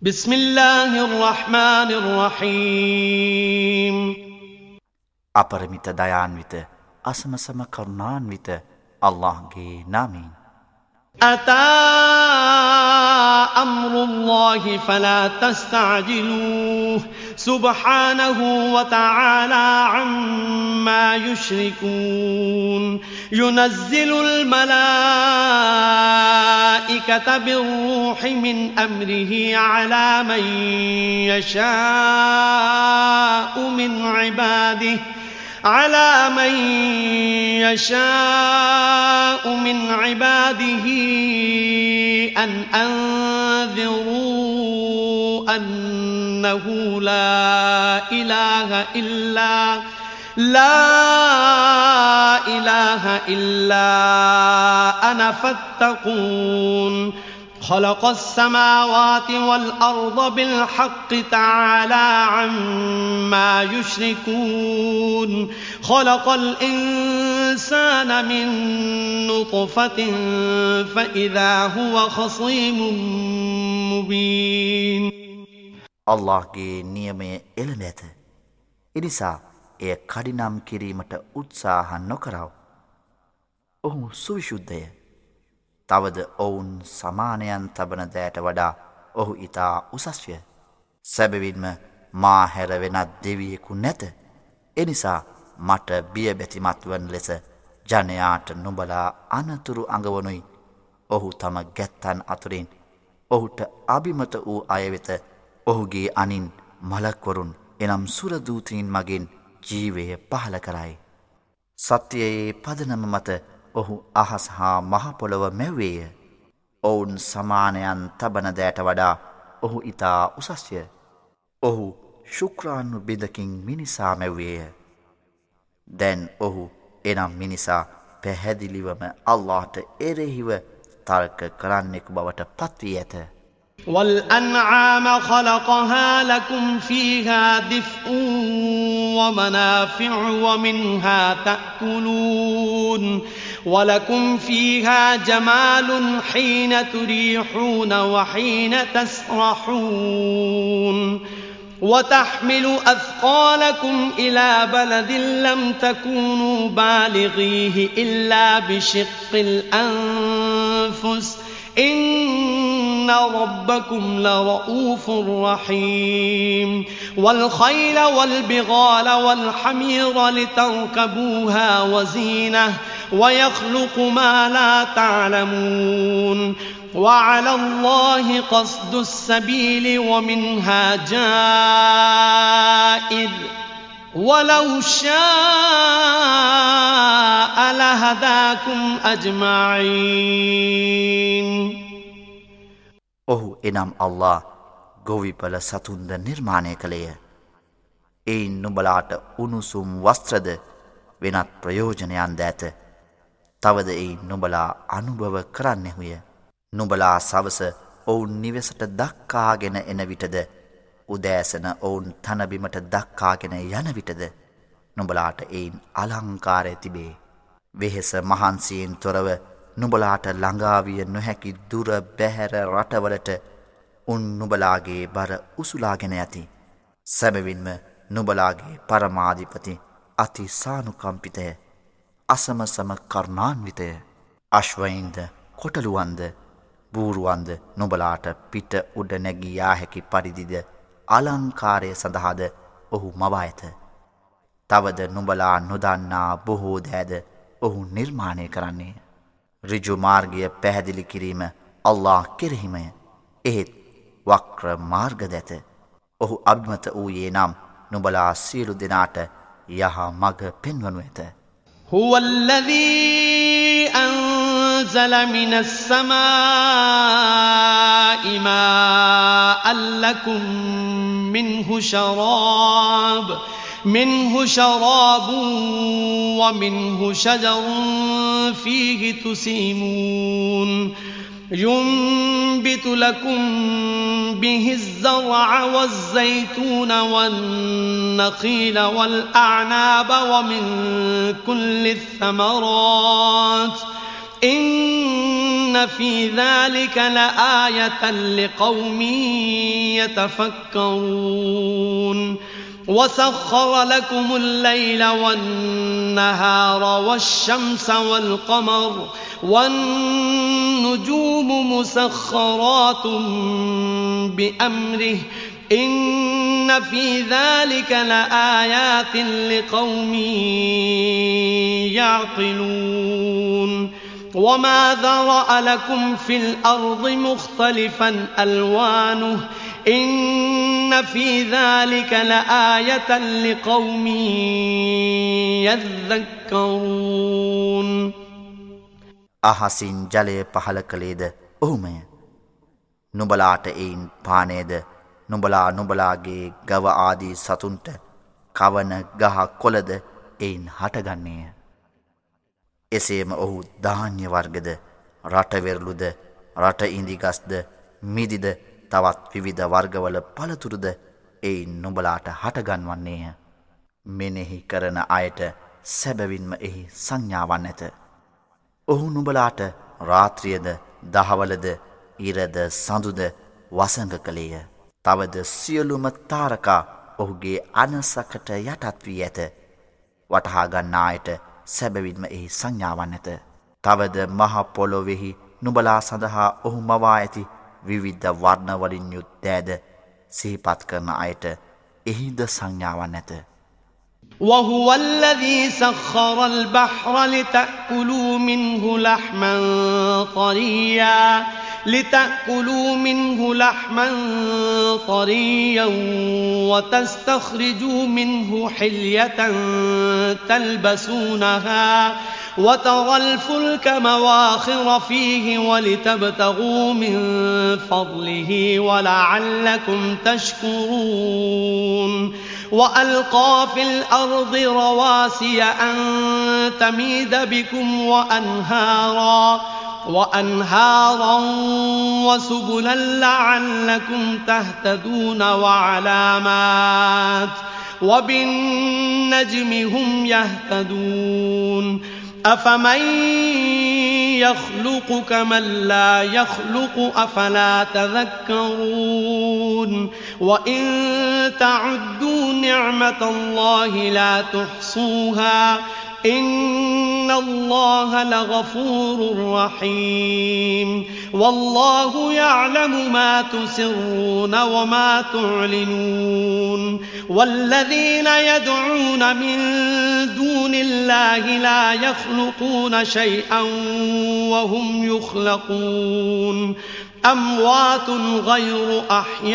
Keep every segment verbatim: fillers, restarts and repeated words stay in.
بسم الله الرحمن الرحيم අපරිමිත දයාන්විත අසමසම කරුණාන්විත අල්ලාහ්ගේ නාමයෙන් أتى أمر الله فلا تستعجلوه سبحانه وتعالى عما يشركون ينزل الملائكة بالروح من أمره على من يشاء من عباده على من يشاء من عباده أن أنذروا أنه لا إله إلا لا إله إلا أنا فاتقون خلق السماوات والأرض بالحق تعالى عما يشركون خلق الإنسان من نطفة فإذا هو خصيم مبين අල්ලාහ්ගේ නියමය එළඹ ඇත. එනිසා එය කඩිනම් කිරීමට උත්සාහ නොකරව. ඔහු සුවිශුද්ධය. තවද ඔවුන් සමානයන් තබන දෑට වඩා ඔහු ඉතා උසස්ය. සැබවින්ම මා හැර වෙනත් දෙවියෙකු නැත. එනිසා මට බියබැතිමත් වන ලෙස ජනයාට නුඹලා අනතුරු අඟවනුයි. ඔහු තම ගැත්තන් අතුරින් ඔහුට අභිමත වූ අය වෙත ඔහුගේ අනින් මලක්වරුන් එනම් සුරදූතීන් මගින් ජීවය පහල කරයි. සත්‍යයේ පදනම මත ඔහු අහස් හා මහපොළොව මැව්වේය. ඔවුන් සමානයන් තබන දෑට වඩා ඔහු ඉතා උසස්ය. ඔහු ශුක්‍රාණු බිඳකින් මිනිසා මැව්වේය. දැන් ඔහු එනම් මිනිසා පැහැදිලිවම අල්ලාහට එරෙහිව තර්ක කරන්නෙකු බවට පත්වී ඇත. والأنعام خلقها لكم فيها دفء ومنافع ومنها تأكلون ولكم فيها جمال حين تريحون وحين تسرحون وتحمل أثقالكم إلى بلد لم تكونوا بالغيه إلا بشق الأنفس إن ربكم لرؤوف رحيم والخيل والبغال والحمير لتركبوها وزينة ويخلق ما لا تعلمون وعلى الله قصد السبيل ومنها جائر ولو شاء لهداكم أجمعين ඔහු එනම් අල්ලාහ් ගොවිපළ සතුන්ද නිර්මාණය කළේය. එයින් නුඹලාට උණුසුම් වස්ත්‍රද වෙනත් ප්‍රයෝජනයන් ද ඇත. තවද එයින් නුඹලා අනුභව කරන්නෙහුය. නුඹලා සවස ඔවුන් නිවෙසට දක්කාගෙන එන විටද උදෑසන ඔවුන් තනබිමට දක්කාගෙන යන විටද නුඹලාට එයින් අලංකාරය තිබේ. වෙහෙස මහන්සියෙන් තොරව නුඹලාට ළඟාවිය නොහැකි දුර බැහැර රටවලට උන් නුඹලාගේ බර උසුලාගෙන ඇති. සැබවින්ම නුඹලාගේ පරමාධිපති අති සානුකම්පිතය, අසමසම කරුණාන්විතය. අශ්වයින්ද කොටලුවන්ද බූරුවන්ද නුඹලාට පිට උඩ නැගී යා හැකි පරිදිද අලංකාරය සඳහාද ඔහු මවා ඇත. තවද නුඹලා නොදන්නා බොහෝ දෑද ඔහු නිර්මාණය කරන්නේ. ඍජු මාර්ගය පැහැදිලි කිරීම අල්ලාහ් කෙරෙහිමය. එහෙත් වක්‍ර මාර්ගද ඇත. ඔහු අභිමත වූයේ නම් නුඹලා සියලු දෙනාට යහ මඟ පෙන්වනු ඇත. هو الذي أنزل من السماء ماء لكم منه شراب منه شراب ومنه شجر فيه تسيمون ينبت لكم به الزرع والزيتون والنخيل والأعناب ومن كل الثمرات إن في ذلك لآية لقوم يتفكرون وسخر لكم الليل والنهار والشمس والقمر والنجوم مسخرات بأمره إن في ذلك لآيات لقوم يعقلون وما ذرأ لكم في الأرض مختلفا ألوانه إن في ذلك لآية لقوم يذكرون අහසින් ජලය පහල කළේද ඔහුමය. නුඹලාට එයින් පානේද නුඹලා නුඹලාගේ ගව ආදී සතුන්ට කවන ගහ කොළද එයින් හටගන්නේය. එසේම ඔහු ධාන්‍ය වර්ගද රටවෙරළුද රට ඉන්දිගස්ද මිදිද තවත් විවිධ වර්ගවල පළතුරුද එයින් නුඹලාට හටගන්වන්නේය. මෙනෙහි කරන අයට සැබවින්ම එහි සංඥාවන් ඇත. ඔහු නුඹලාට රාත්‍රියද දහවලද ඉරද සඳුද වසඟ කළේය. තවද සියලුම තාරකා ඔහුගේ අනසකට යටත් වී ඇත. වටහා ගන්නා අයට සැබවින්ම එහි සංඥාවන් ඇත. තවද මහ පොළොවෙහි නුඹලා සඳහා ඔහු මවා ඇති විවිධ වර්ණ වලින් යුත් දෑද සිහිපත් කරන අයට එහිද සංඥාවන් ඇත. وهو الذي سخر البحر لتأكلوا منه لحما طريا لتأكلوا منه لحما طريا وتستخرجوا منه حلية تلبسونها وترى الفلك مواخر فيه ولتبتغوا من فضله ولعلكم تشكرون وألقى في الأرض رواسي أن تميد بكم وأنهارا وأنهارا وسبلا لعلكم تهتدون وعلامات وبالنجم هم يهتدون أفمن يخلق كمن لا يخلق أفلا تذكرون وإن تعدوا نعمة الله لا تحصوها إن الله لغفور رحيم والله يعلم ما تسرون وما تعلنون والذين يدعون من دون الله لا يخلقون شيئا وهم يخلقون أموات غير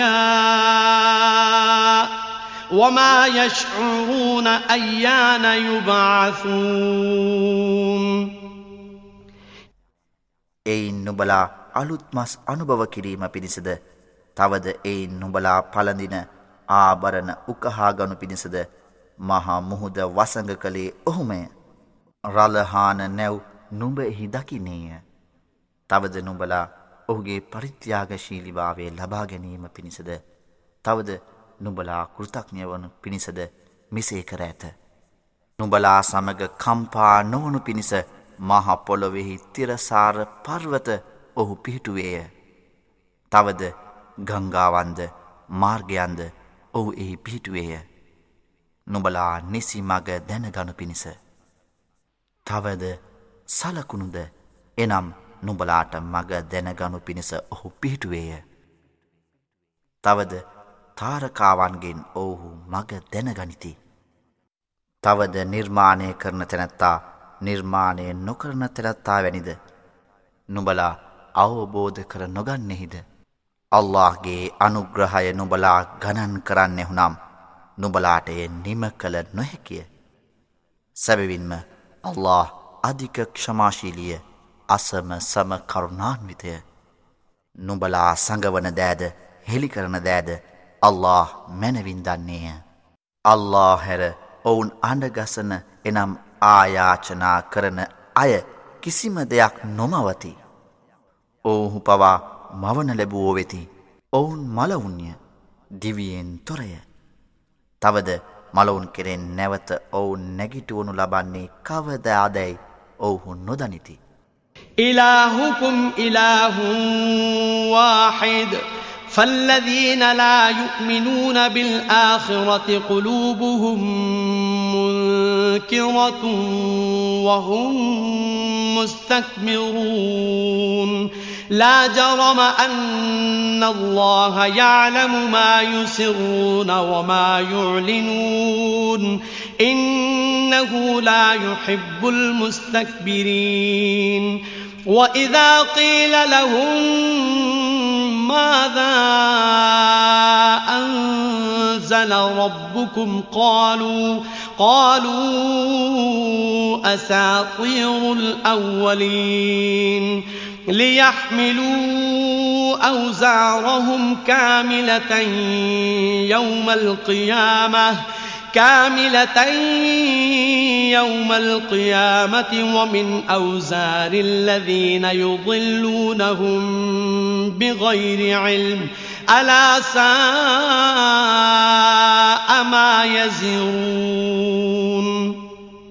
أحياء وما يشعرون أيان يبعثون එයින් නුඹලා අලුත් මස් අනුභව කිරීම පිණිසද තවද එයින් නුඹලා පළඳින ආභරණ උකහා ගනු පිණිසද මහා මුහුද වසඟ කළේ ඔහුමය. රළහාන නැව් නුඹ එහි දකින්නේය. තවද නුඹලා ඔහුගේ පරිත්‍යාගශීලීභාවය ලබා ගැනීම පිණිසද තවද නුඹලා කෘතඥ වනු පිණිසද මෙසේ කර ඇත. නුඹලා සමග කම්පා නොවනු පිණිස මහ පොළොවෙහි තිරසාර පර්වත ඔහු පිහිටුවේය. තවද ගංගාවන්ද මාර්ගයන්ද ඔහු එහි පිහිටුවේය. නුඹලා නිසි මග දැනගනු පිණිස. තවද සලකුණුද එනම් නුඹලාට මග දැනගනු පිණිස ඔහු පිහිටුවේය. තවද තාරකාවන්ගෙන් ඔහු මග දැනගනිති. තවද නිර්මාණය කරන තැනැත්තා නිර්මාණය නොකරන තැනැත්තා වැනිද නුඹලා අවබෝධ කර නොගන්නෙහිද. අල්ලාහ්ගේ අනුග්‍රහය නුඹලා ගණන් කරන්නෙහුනම් නුඹලාට එය නිම කළ නොහැකිය. සැබවින්ම අල්ලාහ් අධික ක්ෂමාශීලිය අසම සම කරුණාන්විතය. නුඹලා සඟවන දෑද හෙළි කරන දෑද අල්ලාහ් මැනවින් දන්නේය. අල්ලාහ් හැර ඔවුන් අඬගසන එනම් ආයාචනා කරන අය කිසිම දෙයක් නොමවති. ඔවුහු පවා මවන ලැබුවෝ වෙති. ඔවුන් මලවුන්ය දිවියෙන් තොරය. තවද මලවුන් කෙරෙන් නැවත ඔවුන් නැගිටුවනු ලබන්නේ කවදාදැයි ඔවුහු නොදනිති. إلهكم إله واحد فالذين لا يؤمنون بالآخرة قلوبهم منكرة وهم مستكبرون لا جرم أن الله يعلم ما يسرون وما يعلنون إنه لا يحب المستكبرين وإذا قيل لهم ماذا أنزل ربكم قالوا قالوا أساطير الأولين ليحملوا أوزارهم كاملة يوم القيامة كاملة يوم القيامة ومن أوزار الذين يضلونهم بغير علم ألا ساء ما يزرون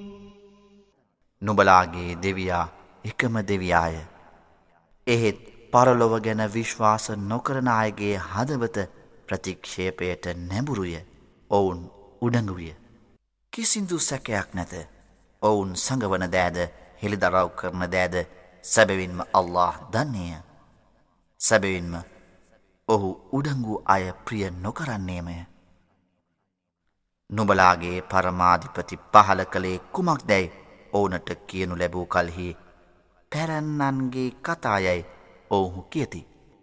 නුඹලාගේ දෙවියා එකම දෙවියාය. එහෙත් පරලොව ගැන විශ්වාස නොකරන අයගේ හදවත ප්‍රතික්ෂේපයට නැඹුරුය. ඔවුන් උඩඟුවිය. කිසිදු සැකයක් නැත. ඔවුන් සඟවන දෑද හෙළිදරව් කරන දෑද සැබවින්ම අල්ලාහ් දන්නේය. සැබවින්ම ඔහු උඩඟු අය ප්‍රිය නොකරන්නේමය. නුඹලාගේ පරමාධිපති පහල කළේ කුමක්දැයි ඔවුනට කියනු ලැබූ කල්හි පැරැන්නන්ගේ කතායයි ඔවුහු කියති.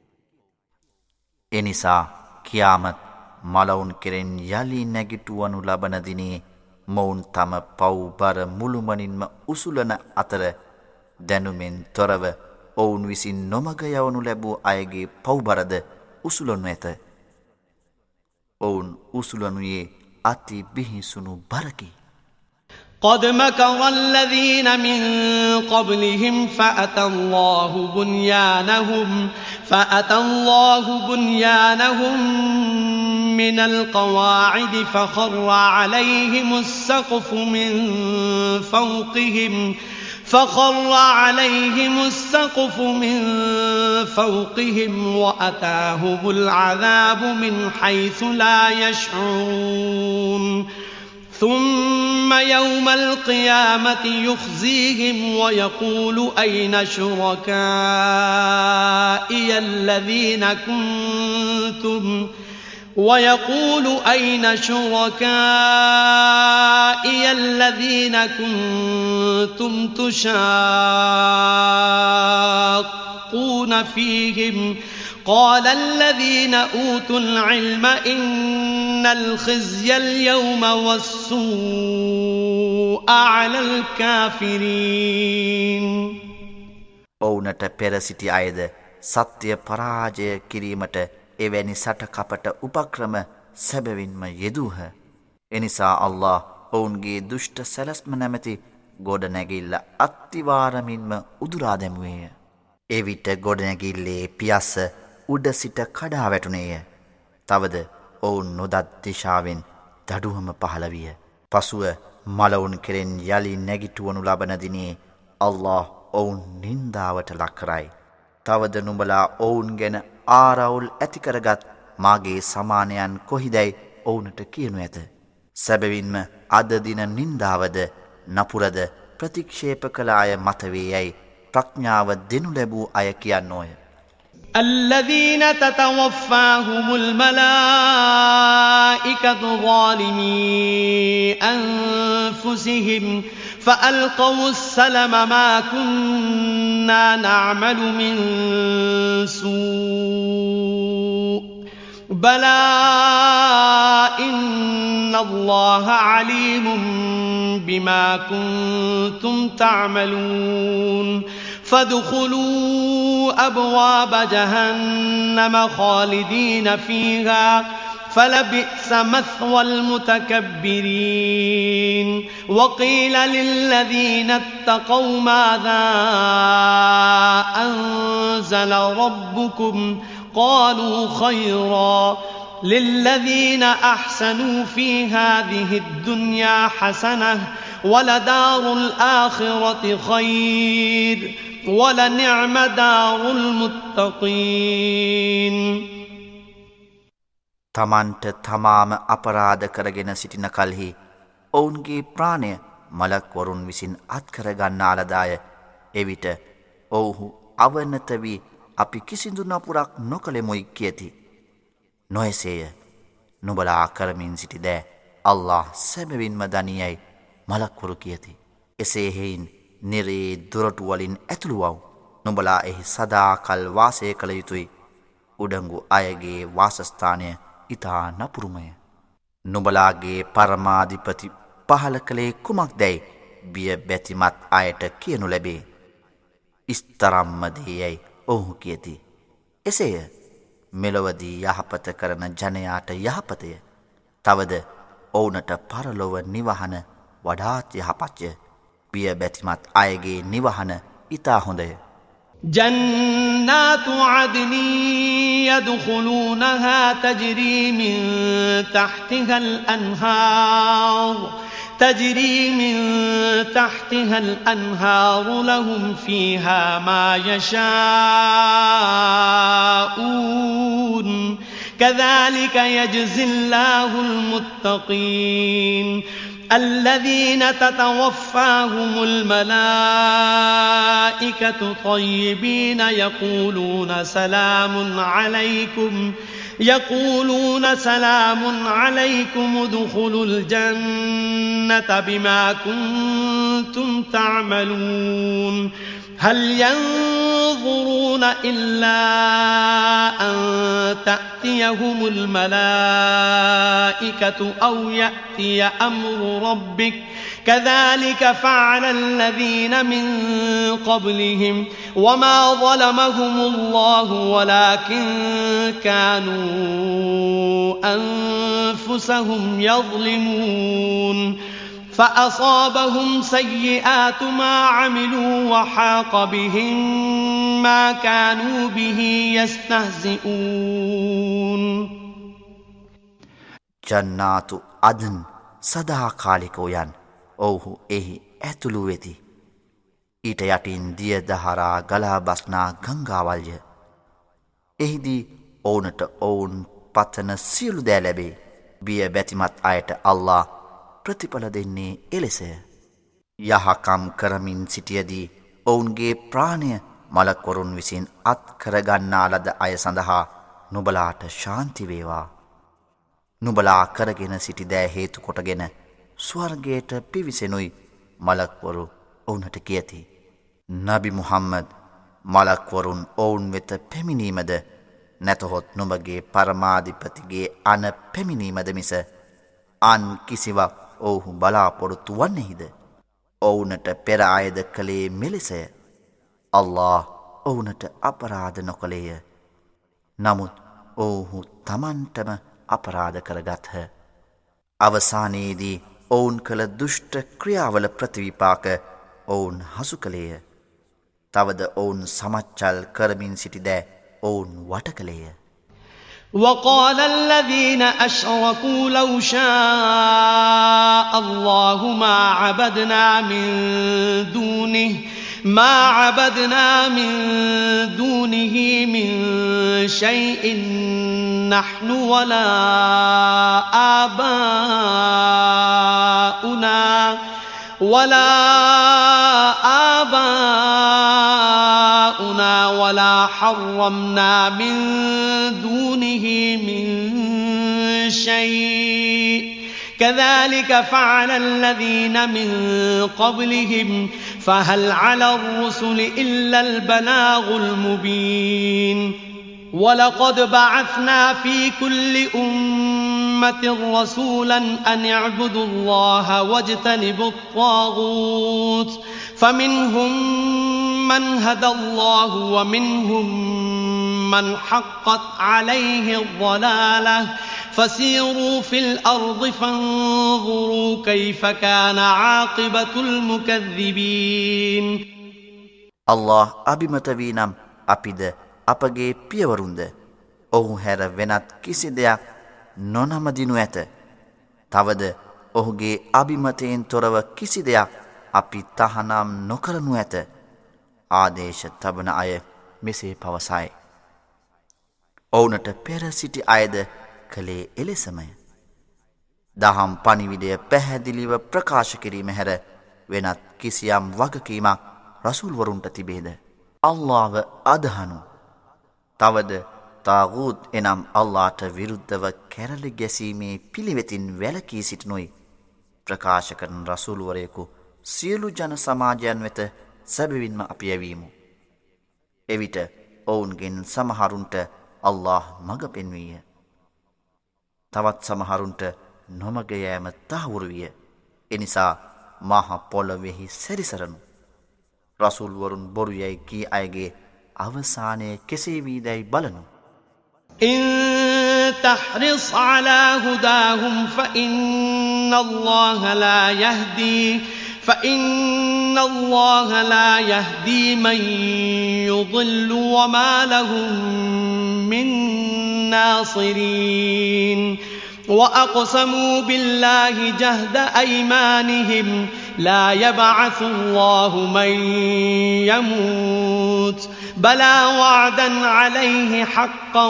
එනිසා කියාමත් මලවුන් කෙරෙන් යලි නැගිටුවනු ලබන දිනේ මොවුන් තම පව්බර මුළුමනින්ම උසුලන අතර දැනුමෙන් තොරව ඔවුන් විසින් නොමග යවනු ලැබූ අයගේ පව්බරද උසුලනු ඇත. ඔවුන් උසුලනුයේ අති බිහිසුණු බරකි. قد مكر الذين من قبلهم فأتى الله بنيانهم فأتى الله بنيانهم من القواعد فخر عليهم السقف من فوقهم فخر عليهم السقف من فوقهم وأتاهم العذاب من حيث لا يشعرون ثم يوم القيامة يخزيهم ويقول أين شركائي الذين كنتم ويقول أين شركائي الذين كنتم تشاقون فيهم قال الذين أوتوا العلم إن الخزي اليوم والسوء على الكافرين ඔවුනට පෙර සිටි අයද සත්‍ය පරාජය කිරීමට එවැනි සටකපට උපක්‍රම සැබවින්ම යෙදූහ. එනිසා අල්ලාහ් ඔවුන්ගේ දුෂ්ට සැලැස්ම නැමැති ගොඩනැගිල්ල අත්තිවාරමින්ම උදුරා දැමුවේය. එවිට ගොඩනැගිල්ලේ පියස්ස උඩ සිට කඩා වැටුණේය. තවද ඔවුන් නොදත් දිශාවෙන් දඩුවම පහළ විය. පසුව මලවුන් කෙරෙන් යලි නැගිටුවනු ලබන දිනේ අල්ලාහ් ඔවුන් නින්දාවට ලක් කරයි. තවද නුඹලා ඔවුන් ගැන ආරවුල් ඇති කරගත් මාගේ සමානයන් කොහිදැයි ඔවුනට කියනු ඇත. සැබවින්ම අද දින නින්දාවද නපුරද ප්‍රතික්ෂේප කළ අය මත වේ යයි ප්‍රඥාව දෙනු ලැබූ අය කියන්නෝය. الذين تتوفاهم الملائكة ظالمي أنفسهم فألقوا السلم ما كنا نعمل من سوء بلى إن الله عليم بما كنتم تعملون فادخلوا أبواب جهنم خالدين فيها فلبئس مثوى المتكبرين وقيل للذين اتقوا ماذا أنزل ربكم قالوا خيرا للذين أحسنوا في هذه الدنيا حسنة ولدار الآخرة خير وَلَنِعْمَ دَارُ الْمُتَّقِينَ තමන්ට තමාම අපරාධ කරගෙන සිටින කල්හි ඔවුන්ගේ ප්‍රාණය මලක් වරුන් විසින් අත්කර ගන්නාලදාය. එවිට ඔවුහු අවනත වී අපි කිසිදු නපුරක් නොකළෙමුයි කියති. නොයසේය. නුබලා කරමින් සිටි දෑ අල්ලාහ් සැබවින්ම දනියයි මලක්වරු කියති. එසේ හෙයින් නිරේ දොරටු වලින් ඇතුළු වව්. නුබලා එහි සදාකල් වාසය කළ යුතුයි. උඩඟු අයගේ වාසස්ථානය ඉතා නපුරුමය. නුබලාගේ පරමාධිපති පහල කළේ කුමක් දැයි බිය බැතිමත් අයට කියනු ලැබේ. ඉස්තරම්මදයයි ඔහු කියති. එසේය මෙලොවදී යහපත කරන ජනයාට යහපතය. තවද ඔවුනට පරලොව නිවහන වඩාත් යහපත්ය. බිය බැතිමත් අයගේ නිවහන ඉතා හොඳය. جنات عدن يدخلونها تجري من تحتها الأنهار تجري من تحتها الأنهار لهم فيها ما يشاءون كذلك يجزي الله المتقين الذين تتوفاهم الملائكة طيبين يقولون سلام عليكم يقولون سلام عليكم ادخلوا الجنة بما كنتم تعملون هل ينظرون إلا أن تأتيهم الملائكة أو يأتي أمر ربك كذلك فعل الذين من قبلهم وما ظلمهم الله ولكن كانوا أنفسهم يظلمون فأصابهم سيئات ما عملوا وحاق بهم ما كانوا به يستهزئون ජන්නාතු අදන් සදාකාලිකෝ යන් ඔවුහු එහි ඇතුළු වෙති. ඊට යටින් දිය දහරා ගලා බස්නා ගංගාවල්ය. එහිදී ඔවුනට ඔවුන් පතන සියලු දෑ ලැබේ. බිය බැතිමත් අයට අල්ලාහ් ප්‍රතිඵල දෙන්නේ එලෙසය. යහකම් කරමින් සිටියදී ඔවුන්ගේ ප්‍රාණය මලක්වරුන් විසින් අත් කරගන්නා ලද අය සඳහා නුබලාට ශාන්ති වේවා. නුබලා කරගෙන සිටි දෑ හේතු කොටගෙන ස්වර්ගයට පිවිසෙනුයි මලක්වරු ඔවුනට කියති. නබි මුහම්මද් මලක්වරුන් ඔවුන් වෙත පැමිණීමද නැතහොත් නුඹගේ පරමාධිපතිගේ අන පැමිණීමද මිස අන් කිසිවක් ඔවුහු බලාපොරොත්තු වන්නෙහිද? ඔවුනට පෙර අයද කළේ මෙලෙසය. අල්ලාහ් ඔවුනට අපරාධ නොකළේය. නමුත් ඔවුහු තමන්ටම අපරාධ කරගත්හ. අවසානයේදී ඔවුන් කළ දුෂ්ට ක්‍රියාවල ප්‍රතිවිපාක ඔවුන් හසු කළේය. තවද ඔවුන් සමච්චල් කරමින් සිටිදෑ ඔවුන් වට කළේය. وقال الذين أشركوا لو شاء الله ما عبدنا من دونه ما عبدنا من دونه من شيء نحن ولا آباؤنا ولا آباؤنا ولا حرمنا من دونه من شيء كذلك فعل الذين من قبلهم فهل على الرسل إلا البلاغ المبين ولقد بعثنا في كل أمة رسولا أن اعبدوا الله واجتنبوا الطاغوت فمنهم من هدى الله ومنهم من حقت عليه الضلالة فسيروا في الأرض فانظروا كيف كان عاقبة المكذبين الله අබිමත වී නම් අපිද අපගේ පියවරුන්ද ඔහු හැර වෙනත් කිසි දෙයක් නොනමදිනු ඇත. තවද ඔහුගේ අබිමතයෙන් තොරව කිසි දෙයක් අපි තහනම් නොකරනු ඇත. ආදේශ තබන අය මෙසේ පවසයි. ඔවුනට පෙර සිටි අයද කළේ එලෙසමය. දහම් පණිවිඩය පැහැදිලිව ප්‍රකාශ කිරීම හැර වෙනත් කිසියම් වගකීමක් රසූල්වරුන්ට තිබේද? අල්ලාහව අදහනු. තවද තාගූත් එනම් අල්ලාහට විරුද්ධව කැරළි ගැසීමේ පිළිවෙතින් වැළකී සිටිනුයි ප්‍රකාශ කරන රසූල්වරයෙකු සියලු ජන සමාජයන් වෙත සැබවින්ම අපි යැවීමු. එවිට ඔවුන්ගෙන් සමහරුන්ට අල්ලාහ් මඟ පෙන්වීය. තවත් සමහරුන්ට නොමග යෑම තහවුරු විය. එනිසා මහ පොළොවෙහි සැරිසරනු. රසූල්වරුන් බොරු යයි කී අයගේ අවසානය කෙසේ වීදැයි බලනු. إن تحرص على هداهم فإن الله لا يهدي فإن الله لا يهدي من يضل وما لهم من ناصرين وأقسموا بالله جهد أيمانهم لا يبعث الله من يموت بلى وعدا عليه حقا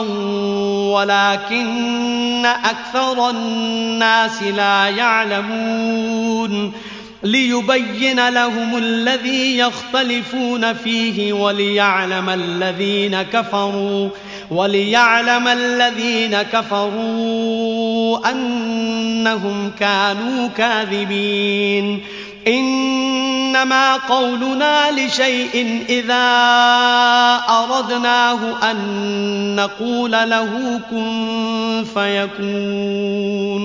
ولكن أكثر الناس لا يعلمون ليبين لهم الذي يختلفون فيه وليعلم الذين كفروا وليعلم الذين كفروا أنهم كانوا كاذبين إنما قولنا لشيء إذا أردناه أن نقول له كن فيكون.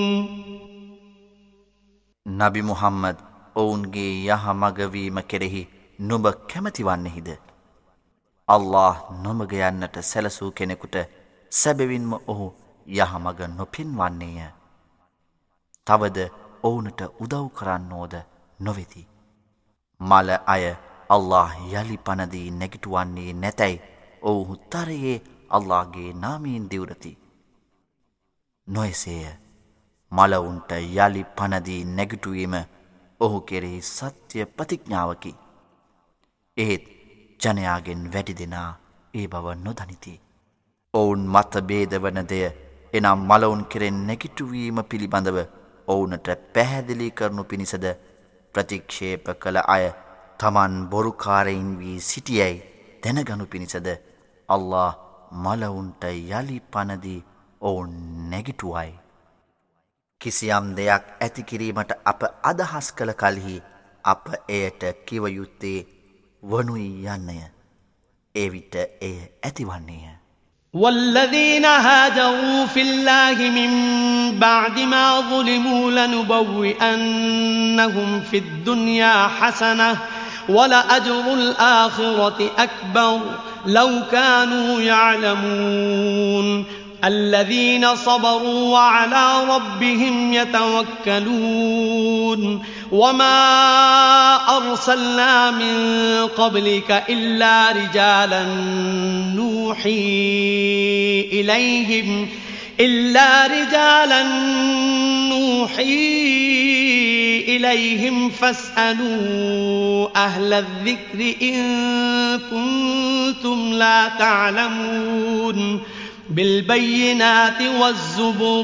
නබි මුහම්මද් ඔවුන්ගේ යහමග වීම කෙරෙහි නුඹ කැමති වන්නේහිද? අල්ලාහ් නොමග යන්නට සැලසූ කෙනෙකුට සැබවින්ම ඔහු යහමග නොපෙන්වන්නේය. තවද ඔවුනට උදව් කරන්නෝද නොවෙති. මල අය අල්ලාහ් යලි පනදී නැගිටුවන්නේ නැතැයි ඔවුහු තරයේ අල්ලාහ්ගේ නාමයෙන් දිවුරති. නොයසේය. මලවුන්ට යලි පනදී නැගිටුවීම ඔහු කෙරෙහි සත්‍ය ප්‍රතිඥාවකි. එහෙත් ජනයාගෙන් වැඩි දෙනා ඒ බව නොදනිති. ඔවුන් මත බේදවන දෙය එනම් මලවුන් කෙරෙන් නැගිටුවීම පිළිබඳව ඔවුනට පැහැදිලි කරනු පිණිසද ප්‍රතික්ෂේප කළ අය තමන් බොරුකාරයින් වී සිටියැයි දැනගනු පිණිසද අල්ලාහ් මලවුන්ට යලි පනදී ඔවුන් නැගිටුවයි. කිසියම් දෙයක් ඇති කිරීමට අප අදහස් කළ කලෙහි අප එයට කිව යුත්තේ වනුයි යන්නය. එවිට එය ඇතිවන්නේය. والذين هاجروا في الله من بعد ما ظلموا لنبوئنهم في الدنيا حسنة ولأجر الآخرة أكبر لو كانوا يعلمون الذين صبروا وعلى ربهم يتوكلون وما أرسلنا من قبلك إلا رجالا نوحي إليهم إلا رجالا نوحي إليهم فاسألوا أهل الذكر إن كنتم لا تعلمون بالبينات والزبر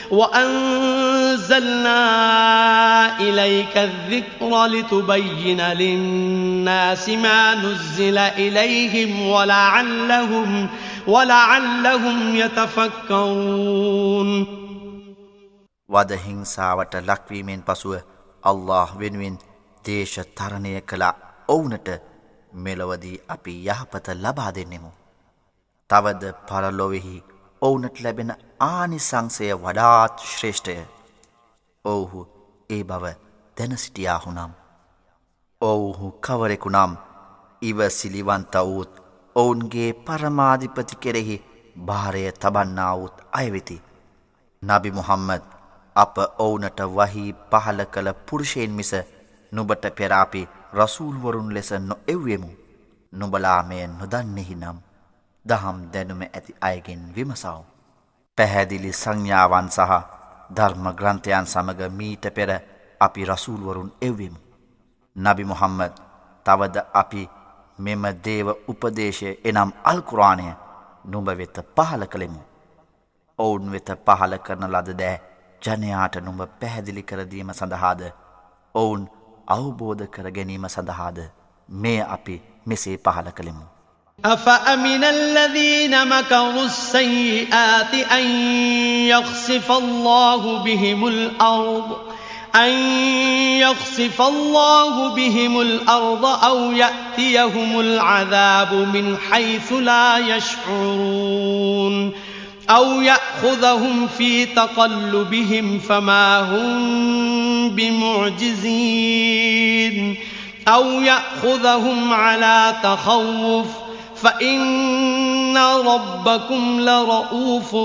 وأنزلنا إليك الذكر لتبين للناس ما نزل إليهم ولعلهم ولعلهم يتفكرون. වද හිංසාවට ලක්වීමෙන් පසුව අල්ලාහ් වෙනුවෙන් දේශ තරණය කළ ඔවුනට මෙලොවදී අපි යහපත ලබා දෙන්නෙමු. තවද පරලොවෙහි ඔවුනට ලැබෙන ආනිසංසය වඩාත් ශ්‍රේෂ්ඨය. ඔවුහු ඒ බව දැන සිටියාහු නම් ඔවුහු කවරෙකු නම් ඉවසිලිවන්ත වූත් ඔවුන්ගේ පරමාධිපති කෙරෙහි භාරය තබන්නාවුත් අයවෙති. නබි මුහම්මද් අප ඔවුනට වහී පහල කළ පුරුෂයෙන් මිස නුබට පෙර අපි රසූල්වරුන් ලෙස නොඑව්වෙමු. නුබලා මෙය නොදන්නෙහි නම් දහම් දැනුම ඇති අයගෙන් විමසව. පැහැදිලි සංඥාවන් සහ ධර්ම ග්‍රන්ථයන් සමග මීට පෙර අපි රසූල්වරුන් එව්වෙමු. නබි මුහම්මද් තවද අපි මෙම දේව උපදේශය එනම් අල් කුර්ආනය නුඹ වෙත පහල කළෙමු. ඔවුන් වෙත පහල කරන ලද දෑ ජනයාට නුඹ පැහැදිලි කර දීම සඳහාද ඔවුන් අවබෝධ කර ගැනීම සඳහාද මේ අපි මෙසේ පහල කළෙමු. أفأمن الذين مكروا السيئات أن يخسف الله بهم الأرض أن يخسف الله بهم الأرض أو يأتيهم العذاب من حيث لا يشعرون أو يأخذهم في تقلبهم فما هم بمعجزين أو يأخذهم على تخوف فإن ربكم لرؤوف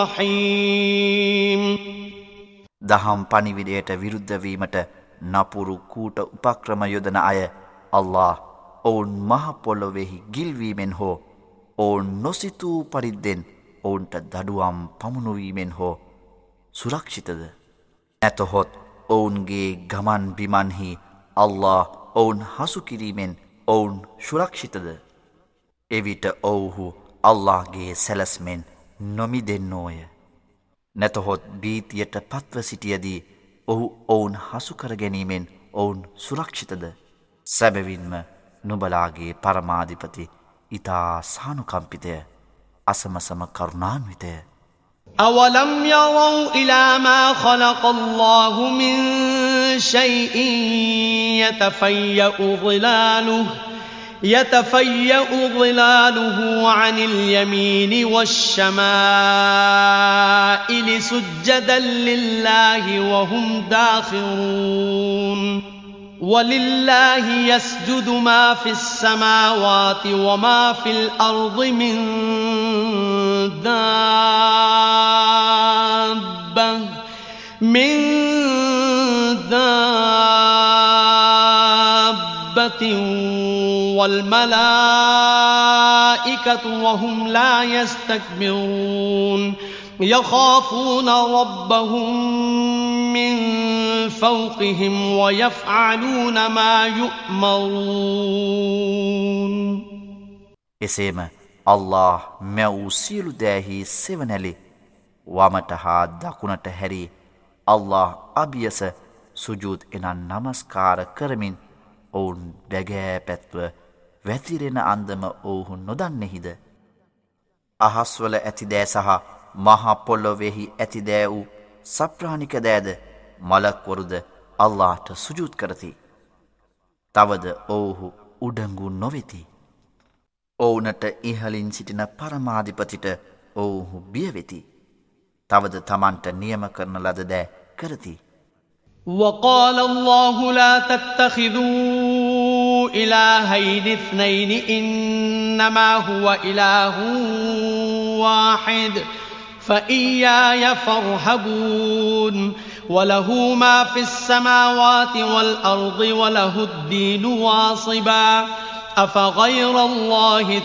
رحيم. දහම් පණිවිඩයට විරුද්ධ වීමට නපුරු කූට උපක්‍රම යොදන අය අල්ලාහ් ඔවුන් මහ පොළොවේහි ගිල්වීමෙන් හෝ ඔවුන් නොසිතූ පරිද්දෙන් ඔවුන්ට දඩුවම් පමුණුවීමෙන් හෝ සුරක්ෂිතද? නැතහොත් ඔවුන්ගේ ගමන් බිමන්හි අල්ලාහ් ඔවුන් හසු කිරීමෙන් ඔවුන් සුරක්ෂිතද? එවිට ඔවුහු අල්ලාහ්ගේ සැලැස්මෙන් නොමිදෙන්නෝය. නැතහොත් බීතියට පත්ව සිටියදී ඔහු ඔවුන් හසු කර ගැනීමෙන් ඔවුන් සුරක්ෂිතද? සැබවින්ම නුබලාගේ පරමාධිපති ඉතා සානුකම්පිතය අසමසම කරුණාන්විතය. أولم يروا إلى ما خلق الله من شيء يتفيأ ظلاله يتفيأ ظلاله عن اليمين والشمائل سجدا لله وهم داخرون ولله يسجد ما في السماوات وما في الأرض من دابة من دابة والملائكة وهم لا يستكبرون يخافون ربهم من فوقهم ويفعلون ما يؤمرون. එසේම අල්ලාහ් මැවූ සියලු දෑහි සෙවණැලි වමට හා දකුණට හැරී අල්ලාහ් අභියස සුජූද් එනම් නමස්කාර කරමින් ඔවුන් බැගෑ පැත්ව වැතිරෙන අන්දම ඔවුහු නොදන්නෙහිද? අහස්වල ඇති දෑ සහ මහ පොළොවේහි ඇති දෑ වූ සප්‍රාණික දෑද මලක්වරුද අල්ලාහ්ට සුජූද් කරති. තවද ඔවුහු උඩඟු නොවෙති. ඔවුනට ඉහලින් සිටින පරමාධිපතිට ඔවුහු බියවෙති. තවද තමන්ට නියම කරන ලද දෑ කරති. وقال الله لا تتخذوا إلهين اثنين إنما هو إله واحد فإياي فارهبون وله ما في السماوات والأرض وله الدين واصبا أفغير الله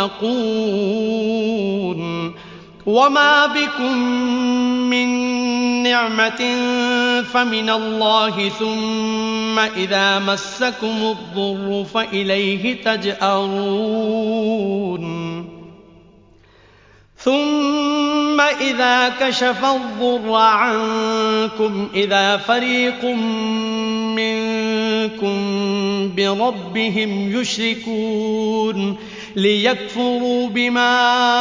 تتقون وما بكم من نعمة فمن الله ثم إذا مسكم الضر فإليه تجأرون ثم إذا كشف الضر عنكم إذا فريق منكم بربهم يشركون ليكفروا بما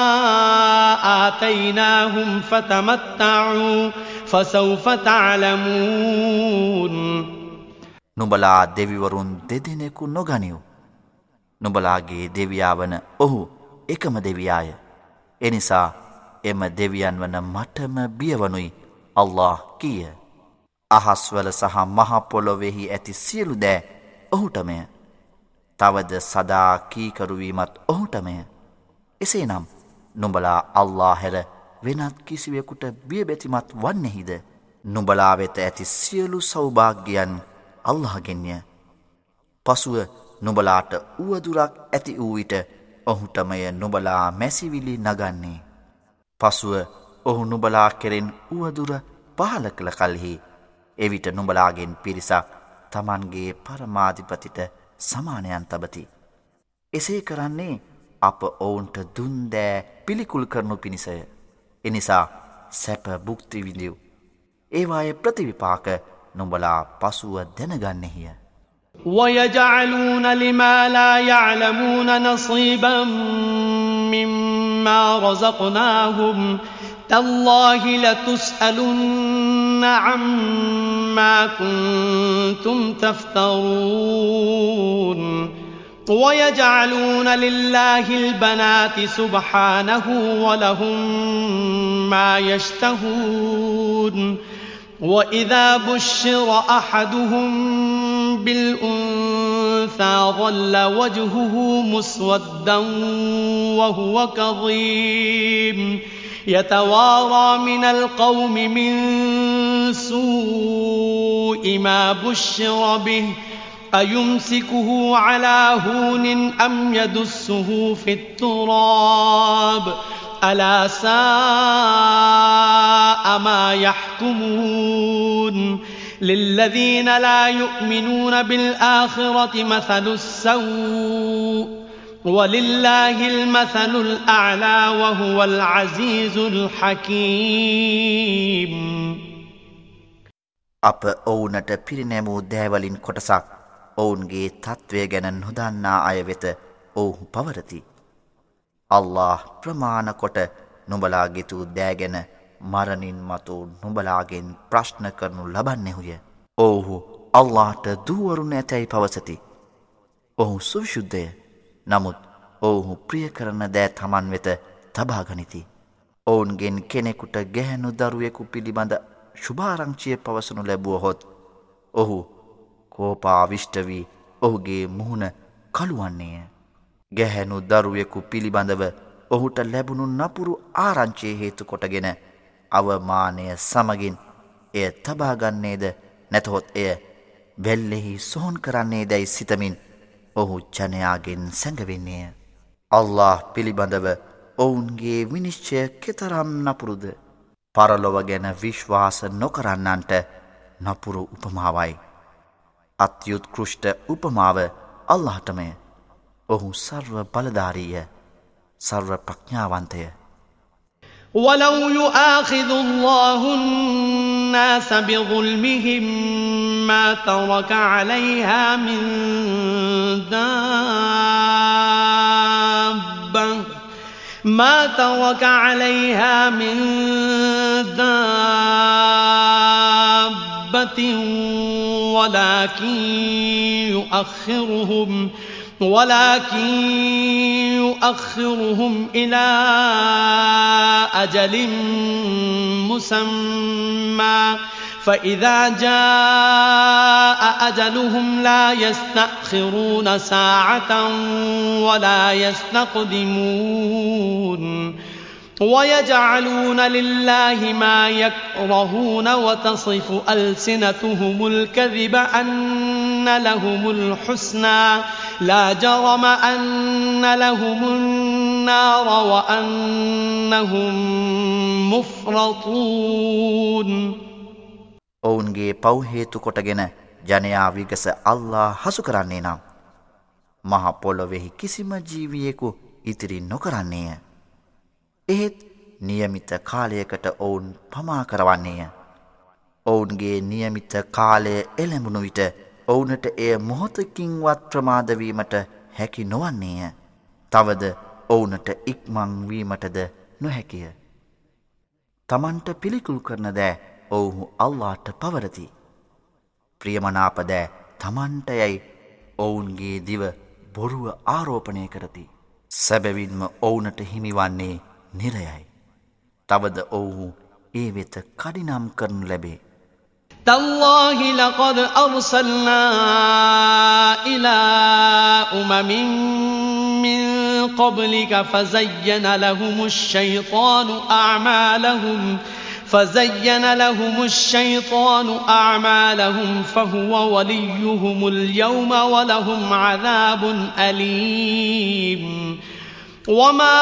آتيناهم فتمتعوا فسوف تعلمون. නුඹලා දෙවිවරුන් දෙදෙනෙකු නොගනිව්. නුඹලාගේ දෙවියා වන ඔහු එකම දෙවියාය. එනිසා එම දෙවියන් වන මටම බියවනුයි අල්ලාහ් කීය. අහස්වල සහ මහ පොළොවේහි ඇති සියලු දෑ ඔහුටමය. තවද සදා කීකරුවීමත් ඔහුටමය. එසේනම් නුඹලා අල්ලාහ් හැර වෙනත් කිසිවෙකුට බියබැතිමත් වන්නේහිද? නුඹලා වෙත ඇති සියලු සෞභාග්‍යයන් අල්ලාහ්ගෙන්ය. පසුව නුඹලාට උවදුරක් ඇති වූ විට ඔහුටමය නුඹලා මැසිවිලි නගන්නේ. පසුව ඔහු නුඹලා කෙරෙන් උවදුර පහල කළ කල්හි එවිට නුඹලාගෙන් පිරිසක් තමන්ගේ පරමාධිපතිට සමානයන් තබති. එසේ කරන්නේ අප ඔවුන්ට දුන් දෑ පිළිකුල් කරනු පිණිසය. එනිසා සැප භුක්ති විඳිව්. ඒවායේ ප්‍රතිවිපාක නුඹලා පසුව දැනගන්නෙහිය. ويجعلون لما لا يعلمون نصيبا مما رزقناهم تالله لتسألن عما كنتم تفترون ويجعلون لله البنات سبحانه ولهم ما يشتهون وإذا بشر أحدهم بالأنثى ظل وجهه مسودا وهو كظيم يتوارى من القوم من سوء ما بشر به أيمسكه على هون أم يدسه في التراب ألا ساء ما يحكمون للذين لا يؤمنون بالآخرة مثل السوء ولله المثل الأعلى وهو العزيز الحكيم. අප ඔවුනට පිරිනැමූ දෑවලින් කොටසක් ඔවුන්ගේ තත්ත්වය ගැන නොදන්නා අය වෙත ඔවුහු පවරති. අල්ලාහ් ප්‍රමාණ කොට නුඹලා ගෙතූ දෑ ගැන මරණින් මතු නුඹලාගෙන් ප්‍රශ්න කරනු ලබන්නෙහුය. ඔවුහු අල්ලාහ්ට දූවරුන් ඇතැයි පවසති. ඔහු සුවිශුද්ධය. නමුත් ඔවුහු ප්‍රිය කරන දෑ තමන් වෙත තබාගනිති. ඔවුන්ගෙන් කෙනෙකුට ගැහැණු දරුවෙකු පිළිබඳ ශුභාරංචිය පවසනු ලැබුවහොත් ඔහු කෝපාවිෂ්ඨ වී ඔහුගේ මුහුණ කළුවන්නේය. ගැහැණු දරුවෙකු පිළිබඳව ඔහුට ලැබුණු නපුරු ආරංචිය හේතු කොටගෙන අවමානය සමගින් එය තබාගන්නේද නැතහොත් එය වෙල්ලෙහි සොහොන් කරන්නේදැයි සිතමින් ඔහු ජනයාගෙන් සැඟවෙන්නේය. අල්ලාහ් පිළිබඳව ඔවුන්ගේ විනිශ්චය කෙතරම් නපුරුද. පරලොව ගැන විශ්වාස නොකරන්නන්ට නපුරු උපමාවයි. අත්‍යුත්කෘෂ්ට උපමාව අල්ලාහටමය. ඔහු සර්ව බලධාරීය, සර්ව ප්‍රඥාවන්තය. ولو يؤاخذ الله الناس بظلمهم ما ترك عليها من دابة ما ترك عليها من دابة ولكن يؤخرهم ولكن يؤخرهم إلى أجل مسمى فإذا جاء أجلهم لا يستأخرون ساعة ولا يستقدمون ويجعلون لله ما يكرهون وتصف ألسنتهم الكذب أن لهم الحسنى لا جرم أن لهم النار وأنهم مفرطون. ඔවුන්ගේ පව් හේතු කොටගෙන ජනයා විගස අල්ලාහ් හසු කරන්නේ නම් මහ පොළොවේහි කිසිම ජීවියෙකු ඉතිරි නොකරන්නේය. එහෙත් නියමිත කාලයකට ඔවුන් පමා කරවන්නේය. ඔවුන්ගේ නියමිත කාලය එළඹුණු විට ඔවුනට එය මොහොතකින්වත් ප්‍රමාදවීමට හැකි නොවන්නේය. තවද ඔවුනට ඉක්මං වීමටද නොහැකිය. තමන්ට පිළිකුල් කරන දෑ ඔවුහු අල්ලාහ්ට පවරති. ප්‍රියමනාප දෑ තමන්ට යැයි ඔවුන්ගේ දිව බොරුව ආරෝපණය කරති. සැබවින්ම ඔවුනට හිමිවන්නේ නිරයයි. තවද ඔවුහු ඒ වෙත කඩිනම් කරනු ලැබේ. تالله لقد أرسلنا إلى أمم من قبلك فزين لهم الشيطان أعمالهم فزين لهم الشيطان أعمالهم فهو وليهم اليوم ولهم عذاب أليم. وما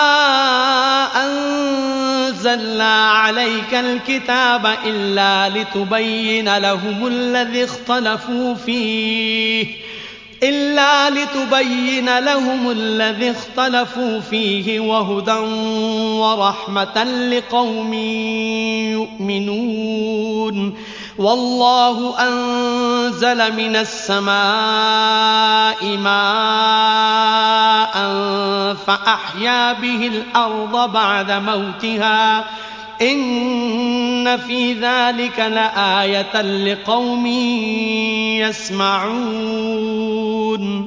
أنزلنا عليك الكتاب إلا لتبين لهم الذي اختلفوا فيه إلا لتبين لهم الذي اختلفوا فيه وهدى ورحمة لقوم يؤمنون والله أنزل من السماء ماء فأحيا به الأرض بعد موتها إن في ذلك لآية لقوم يسمعون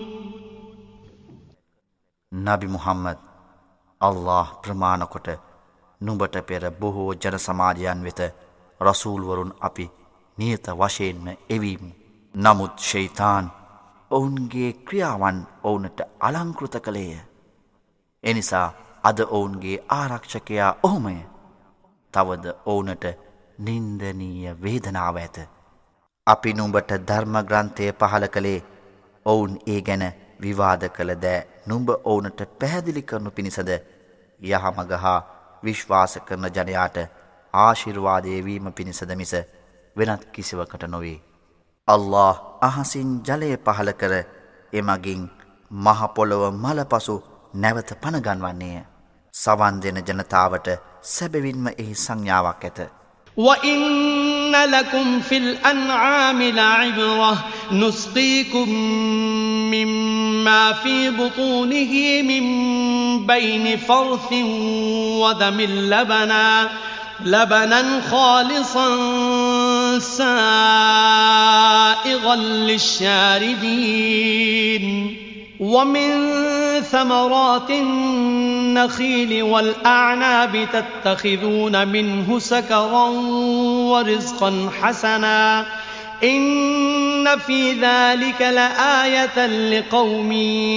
නබි මුහම්මද් අල්ලාහ් ප්‍රමාණ කොට නුඹට පෙර බොහෝ ජන සමාජයන් වෙත රසූල්වරුන් අපි නියත වශයෙන්ම එවීමු. නමුත් ෂයිතාන් ඔවුන්ගේ ක්‍රියාවන් ඔවුන්ට අලංකෘත කළේය. එනිසා අද ඔවුන්ගේ ආරක්ෂකයා ඔහුමය. තවද ඔවුනට නින්දනීය වේදනාව ඇත. අපි නුඹට ධර්ම ග්‍රන්ථය පහල කළේ ඔවුන් ඒ ගැන විවාද කළ දෑ නුඹ ඔවුනට පැහැදිලි කරනු පිණිසද යහමග හා විශ්වාස කරන ජනයාට ආශිර්වාදය වීම පිණිසද මිස වෙනත් කිසිවකට නොවේ. අල්ලාහ් අහසින් ජලය පහල කර එමගින් මහ පොළොව මලපසු නැවත පනගන්වන්නේය. සවන් දෙන ජනතාවට සැබවින්ම එහි සංඥාවක් ඇත. وَإِنَّ لَكُمْ فِي الْأَنْعَامِ لَعِبْرَةً نُسْقِيكُم مِّمَّا فِي بُطُونِهِ مِن بَيْنِ فَرْثٍ وَدَمٍ لَبَنًا لَبَنًا خَالِصًا سَائِغًا لِّلشَّارِبِينَ وَمِن ثَمَرَاتِ النَّخِيلِ وَالْأَعْنَابِ تَتَّخِذُونَ مِنْهُ سَكَرًا وَرِزْقًا حَسَنًا إِنَّ فِي ذَلِكَ لَآيَةً لِقَوْمٍ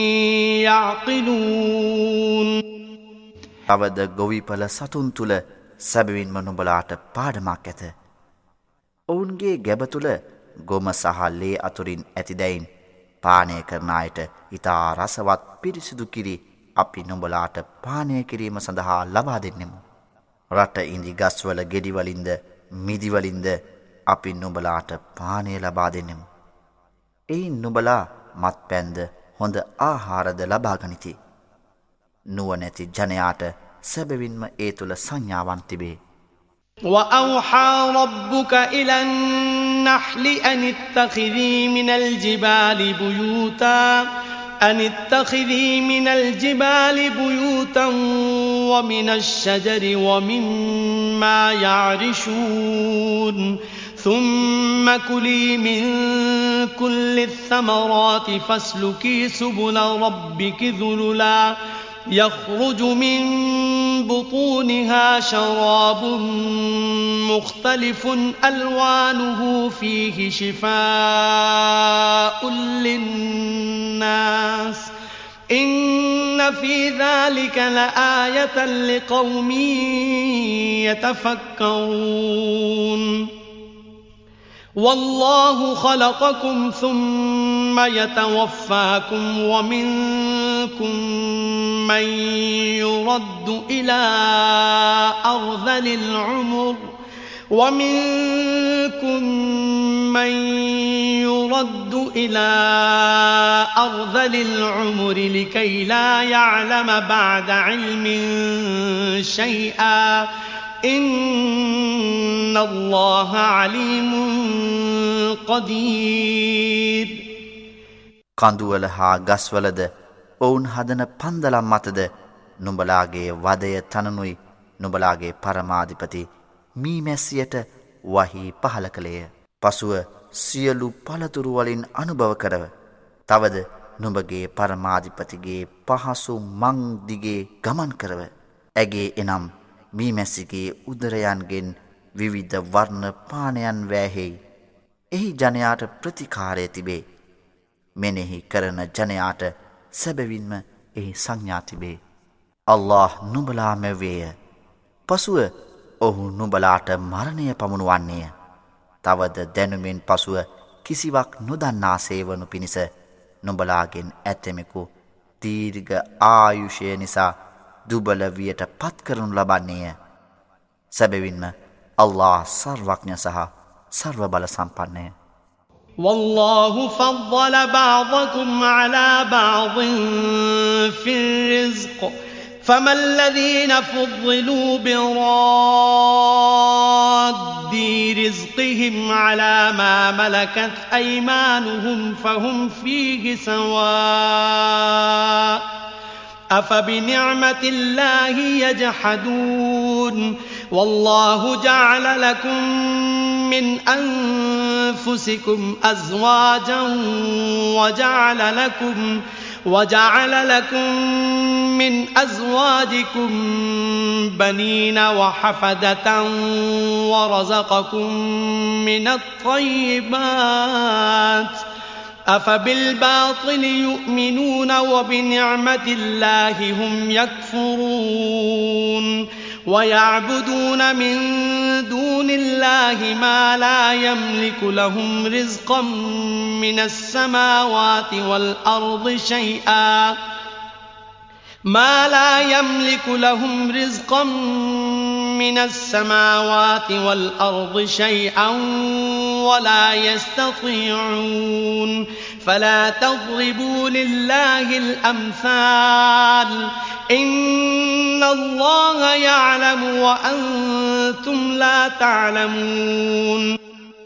يَعْقِلُونَ තවද ගොවිපළ සතුන් තුළ සැබවින්ම නුඹලාට පාඩමක් ඇත. ඔවුන්ගේ ගැබ තුළ ගොම සහ ලේ අතුරින් ඇතිදැයින් පානය කරන අයට ඉතා රසවත් පිරිසිදු කිරි අපි නුඹලාට පානය කිරීම සඳහා ලබා දෙන්නෙමු. රට ඉඳි ගස්වල ගෙඩිවලින්ද මිදිවලින්ද අපි නුඹලාට පානය ලබා දෙන්නෙමු. එයින් නුඹලා මත්පැන්ද හොඳ ආහාරද ලබා ගනිති. නුවණැති ජනයාට සැබවින්ම ඒ තුළ සංඥාවන් තිබේ. وَأَوْحَى رَبُّكَ إِلَى النَّحْلِ أَنِ اتَّخِذِي مِنَ الْجِبَالِ بُيُوتًا أَنِ اتَّخِذِي مِنَ الْجِبَالِ بُيُوتًا وَمِنَ الشَّجَرِ وَمِمَّا يَعْرِشُونَ ثُمَّ كُلِي مِن كُلِّ الثَّمَرَاتِ فَاسْلُكِي سُبُلَ رَبِّكِ ذُلُلًا يخرج من بطونها شراب مختلف ألوانه فيه شفاء للناس إن في ذلك لآية لقوم يتفكرون والله خلقكم ثم يتوفاكم ومنكم من يرد إلى أرذل العمر ومنكم من يرد إلى أرذل العمر لكي لا يعلم بعد علم شيئا إن الله عليم قدير කඳුවල හා ගස්වලද ඔවුන් හදන පන්දලම් මතද නුඹලාගේ වදය තනනුයි නුඹලාගේ පරමාධිපති මීමැස්සියට වහී පහල කළේය. පසුව සියලු පළතුරු වලින් අනුභව කරව. තවද නුඹගේ පරමාධිපතිගේ පහසු මං දිගේ ගමන් කරව. ඇගේ එනම් මීමැස්සිගේ උදරයන්ගෙන් විවිධ වර්ණ පානයන් වෑහෙයි. එහි ජනයාට ප්‍රතිකාරය තිබේ. මෙනෙහි කරන ජනයාට සැබවින්ම එහි සංඥා තිබේ. අල්ලාහ් නුඹලා මැවේය. පසුව ඔහු නුඹලාට මරණය පමුණුවන්නේය. තවද දැනුමෙන් පසුව කිසිවක් නොදන්නා සේවනු පිණිස නුඹලාගෙන් ඇතෙමෙකු දීර්ඝ ආයුෂය නිසා දුබල වියට පත් කරනු ලබන්නේය. සැබවින්ම අල්ලාහ් සර්වඥ සහ සර්ව බල සම්පන්නය. والله فضل بعضكم على بعض في الرزق فما الذين فضلوا براد رزقهم على ما ملكت أيمانهم فهم فيه سواء أفبنعمة الله يجحدون والله جعل لكم من أنفسكم أزواجا وجعل لكم وجعل لكم من أزواجكم بنين وحفدة ورزقكم من الطيبات أفبالباطل يؤمنون وبنعمة الله هم يكفرون ويعبدون من دون الله ما لا يملك لهم رزقا من السماوات والأرض شيئا ما لا يملك لهم رزقا من السماوات والأرض شيئا ولا يستطيعون فلا تضربوا لله الأمثال إن الله يعلم وأنتم لا تعلمون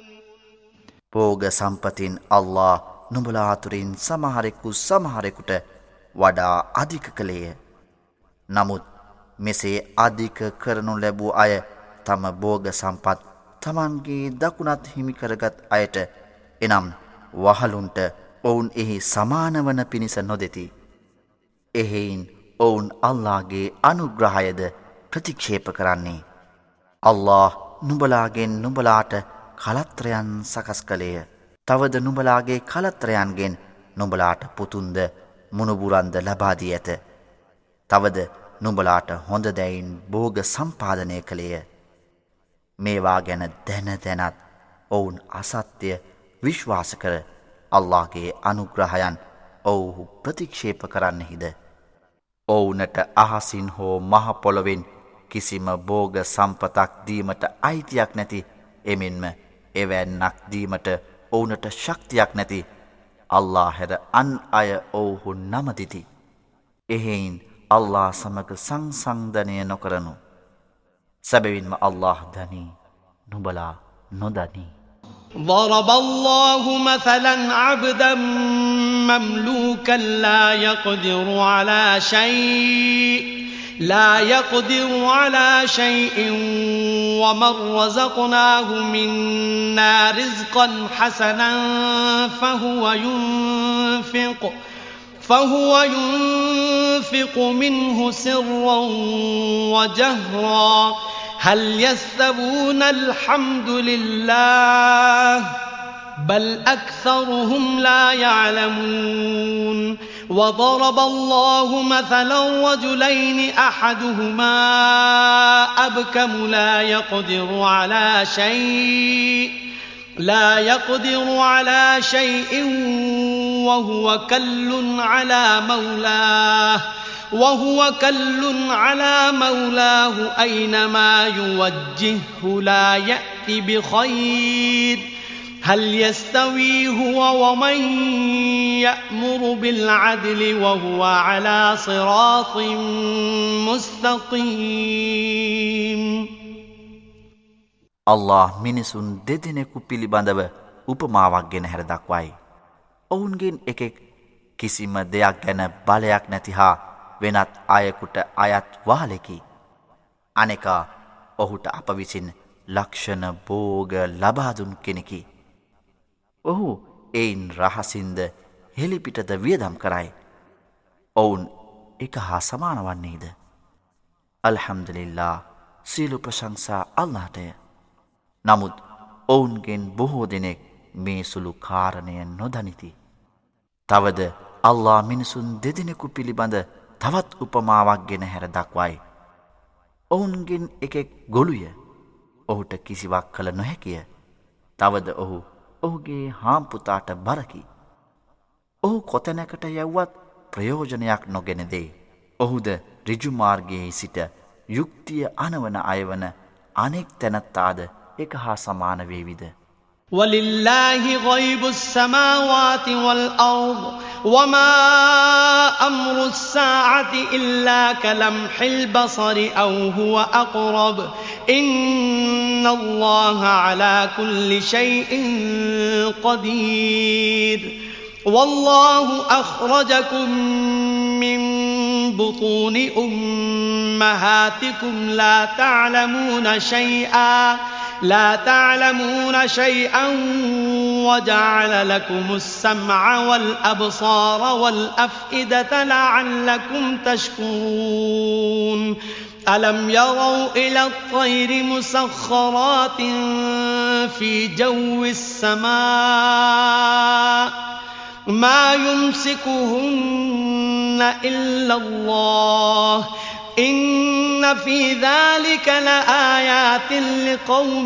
භෝග සම්පතින් අල්ලාහ් නුඹලා අතුරින් සමහරෙකු සමහරෙකුට වඩා අධික කළේය. නමුත් මෙසේ අධික කරනු ලැබූ අය තම භෝග සම්පත් තමන්ගේ දකුණත් හිමි කරගත් අයට එනම් වහලුන්ට ඔවුන් එහි සමාන වන පිණිස නොදෙති. එහෙයින් ඔවුන් අල්ලාහ්ගේ අනුග්‍රහයද ප්‍රතික්ෂේප කරන්නේ. අල්ලාහ් නුඹලාගෙන් නුඹලාට කලත්‍රයන් සකස් කළේය. තවද නුඹලාගේ කලත්‍රයන්ගෙන් නුඹලාට පුතුන්ද මුණුබුරන්ද ලබා දී ඇත. තවද නුඹලාට හොඳ දැයින් භෝග සම්පාදනය කළේය. මේවා ගැන දැන දැනත් ඔවුන් අසත්‍ය විශ්වාස කර අල්ලාහ්ගේ අනුග්‍රහයන් ඔවුහු ප්‍රතික්ෂේප කරන්නෙහිද. ඔවුනට අහසින් හෝ මහ පොළොවෙන් කිසිම භෝග සම්පතක් දීමට අයිතියක් නැති එමෙන්ම එවැන්නක් දීමට ඔවුනට ශක්තියක් නැති අල්ලාහ් හැර අන් අය ඔවුහු නමදිති. එහෙයින් අල්ලාහ් සමග සංසන්දනය නොකරනු. සැබවින්ම අල්ලාහ් දනී නුඹලා නොදනී. ضرب الله مثلا عبدا مملوكا لا يقدر على شيء لا يقدر على شيء ومن رزقناه منا رزقا حسنا فهو ينفق فهو ينفق منه سرا وجهرا هل يستوون الحمد لله بل أكثرهم لا يعلمون وضرب الله مثلا رجلين أحدهما أبكم لا يقدر على شيء لا يقدر على شيء وهو كل على مولاه وهو كل على مولاه أينما يوجهه لا يأتي بخير هل يستوي هو ومن يأمر بالعدل وهو على صراط مستقيم. අල්ලාහ් මිනිසුන් දෙදෙනෙකු පිළිබඳව උපමාවක් ගෙන හැර දක්වයි. ඔවුන්ගෙන් එකෙක් කිසිම දෙයක් ගැන බලයක් නැති හා වෙනත් අයෙකුට අයත් වහලෙකි. අනෙකා ඔහුට අප විසින් ලක්ෂණ භෝග ලබා දුන් කෙනෙකි. ඔහු එයින් රහසින්ද හෙළිපිටද වියදම් කරයි. ඔවුන් එක හා සමාන වන්නේද? අල්හම්දුලිල්ලාහ්, සියලු ප්‍රශංසා අල්ලාහටය. නමුත් ඔවුන්ගෙන් බොහෝ දෙනෙක් මේ සුළු කාරණය නොදනිති. තවද අල්ලාහ් මිනිසුන් දෙදෙනෙකු පිළිබඳ තවත් උපමාවක් ගෙන හැර දක්වයි. ඔවුන්ගෙන් එකෙක් ගොළුය. ඔහුට කිසිවක් කළ නොහැකිය. තවද ඔහු ඔහුගේ හාම්පුතාට බරකි. ඔහු කොතැනකට යව්වත් ප්‍රයෝජනයක් නොගෙන දෙයි. ඔහුද ඍජුමාර්ගයේ සිට යුක්තිය අනවන අයවන අනෙක් තැනැත්තාද එක හා සමාන වේවිද? وَلِلَّهِ غَيْبُ السَّمَاوَاتِ وَالْأَرْضِ وَمَا أَمْرُ السَّاعَةِ إِلَّا كَلَمْحِ الْبَصَرِ أَوْ هُوَ أَقْرَبُ إِنَّ اللَّهَ عَلَى كُلِّ شَيْءٍ قَدِيرٌ وَاللَّهُ أَخْرَجَكُم مِّن بُطُونِ أُمَّهَاتِكُمْ لَا تَعْلَمُونَ شَيْئًا لا تعلمون شيئا وجعل لكم السمع والأبصار والأفئدة لعلكم تشكرون ألم يروا إلى الطير مسخرات في جو السماء ما يمسكهن إلا الله إن في ذلك لآيات لقوم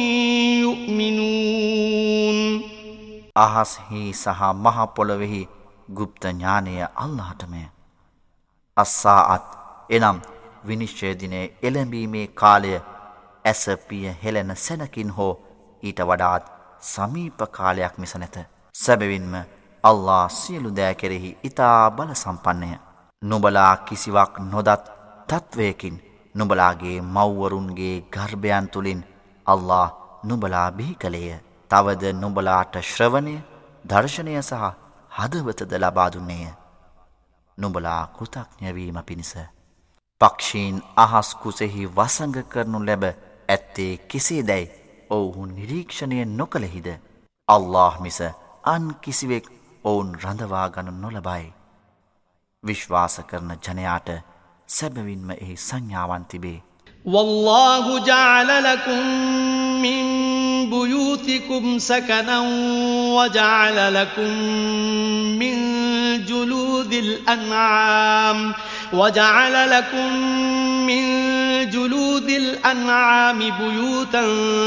يؤمنون අහස්හි සහ මහ පොළොවෙහි ගුප්ත ඥානය අල්ලාහටමය. අස්සාඅත් එනම් විනිශ්චය දිනේ එළඹීමේ කාලය ඇස පිය හෙළෙන සැනකින් හෝ ඊට වඩාත් සමීප කාලයක් මිස නැත. සැබවින්ම අල්ලාහ් සියලු දෑ කෙරෙහි ඉතා බල සම්පන්නය. නුඹලා කිසිවක් නොදත් තත්වයකින් නුඹලාගේ මව්වරුන්ගේ ගර්භයන් තුළින් අල්ලාහ් නුඹලා බිහි කළේය. තවද නුඹලාට ශ්‍රවණය, දර්ශනය සහ හදවතද ලබා දුන්නේය. නුඹලා කෘතඥ වීම පිණිස. පක්ෂීන් අහස් කුසෙහි වසඟ කරනු ලැබ ඇත්තේ කෙසේදැයි ඔවුහු නිරීක්ෂණය නොකළෙහිද? අල්ලාහ් මිස අන් කිසිවෙක් ඔවුන් රඳවා ගනු නොලබයි. විශ්වාස කරන ජනයාට සැබවින්ම එහි සංඥාවන් තිබේ. والله جعل لكم من بيوتكم سكنا وجعل لكم من جلود الأنعام وجعل لكم من جلود الأنعام بيوتا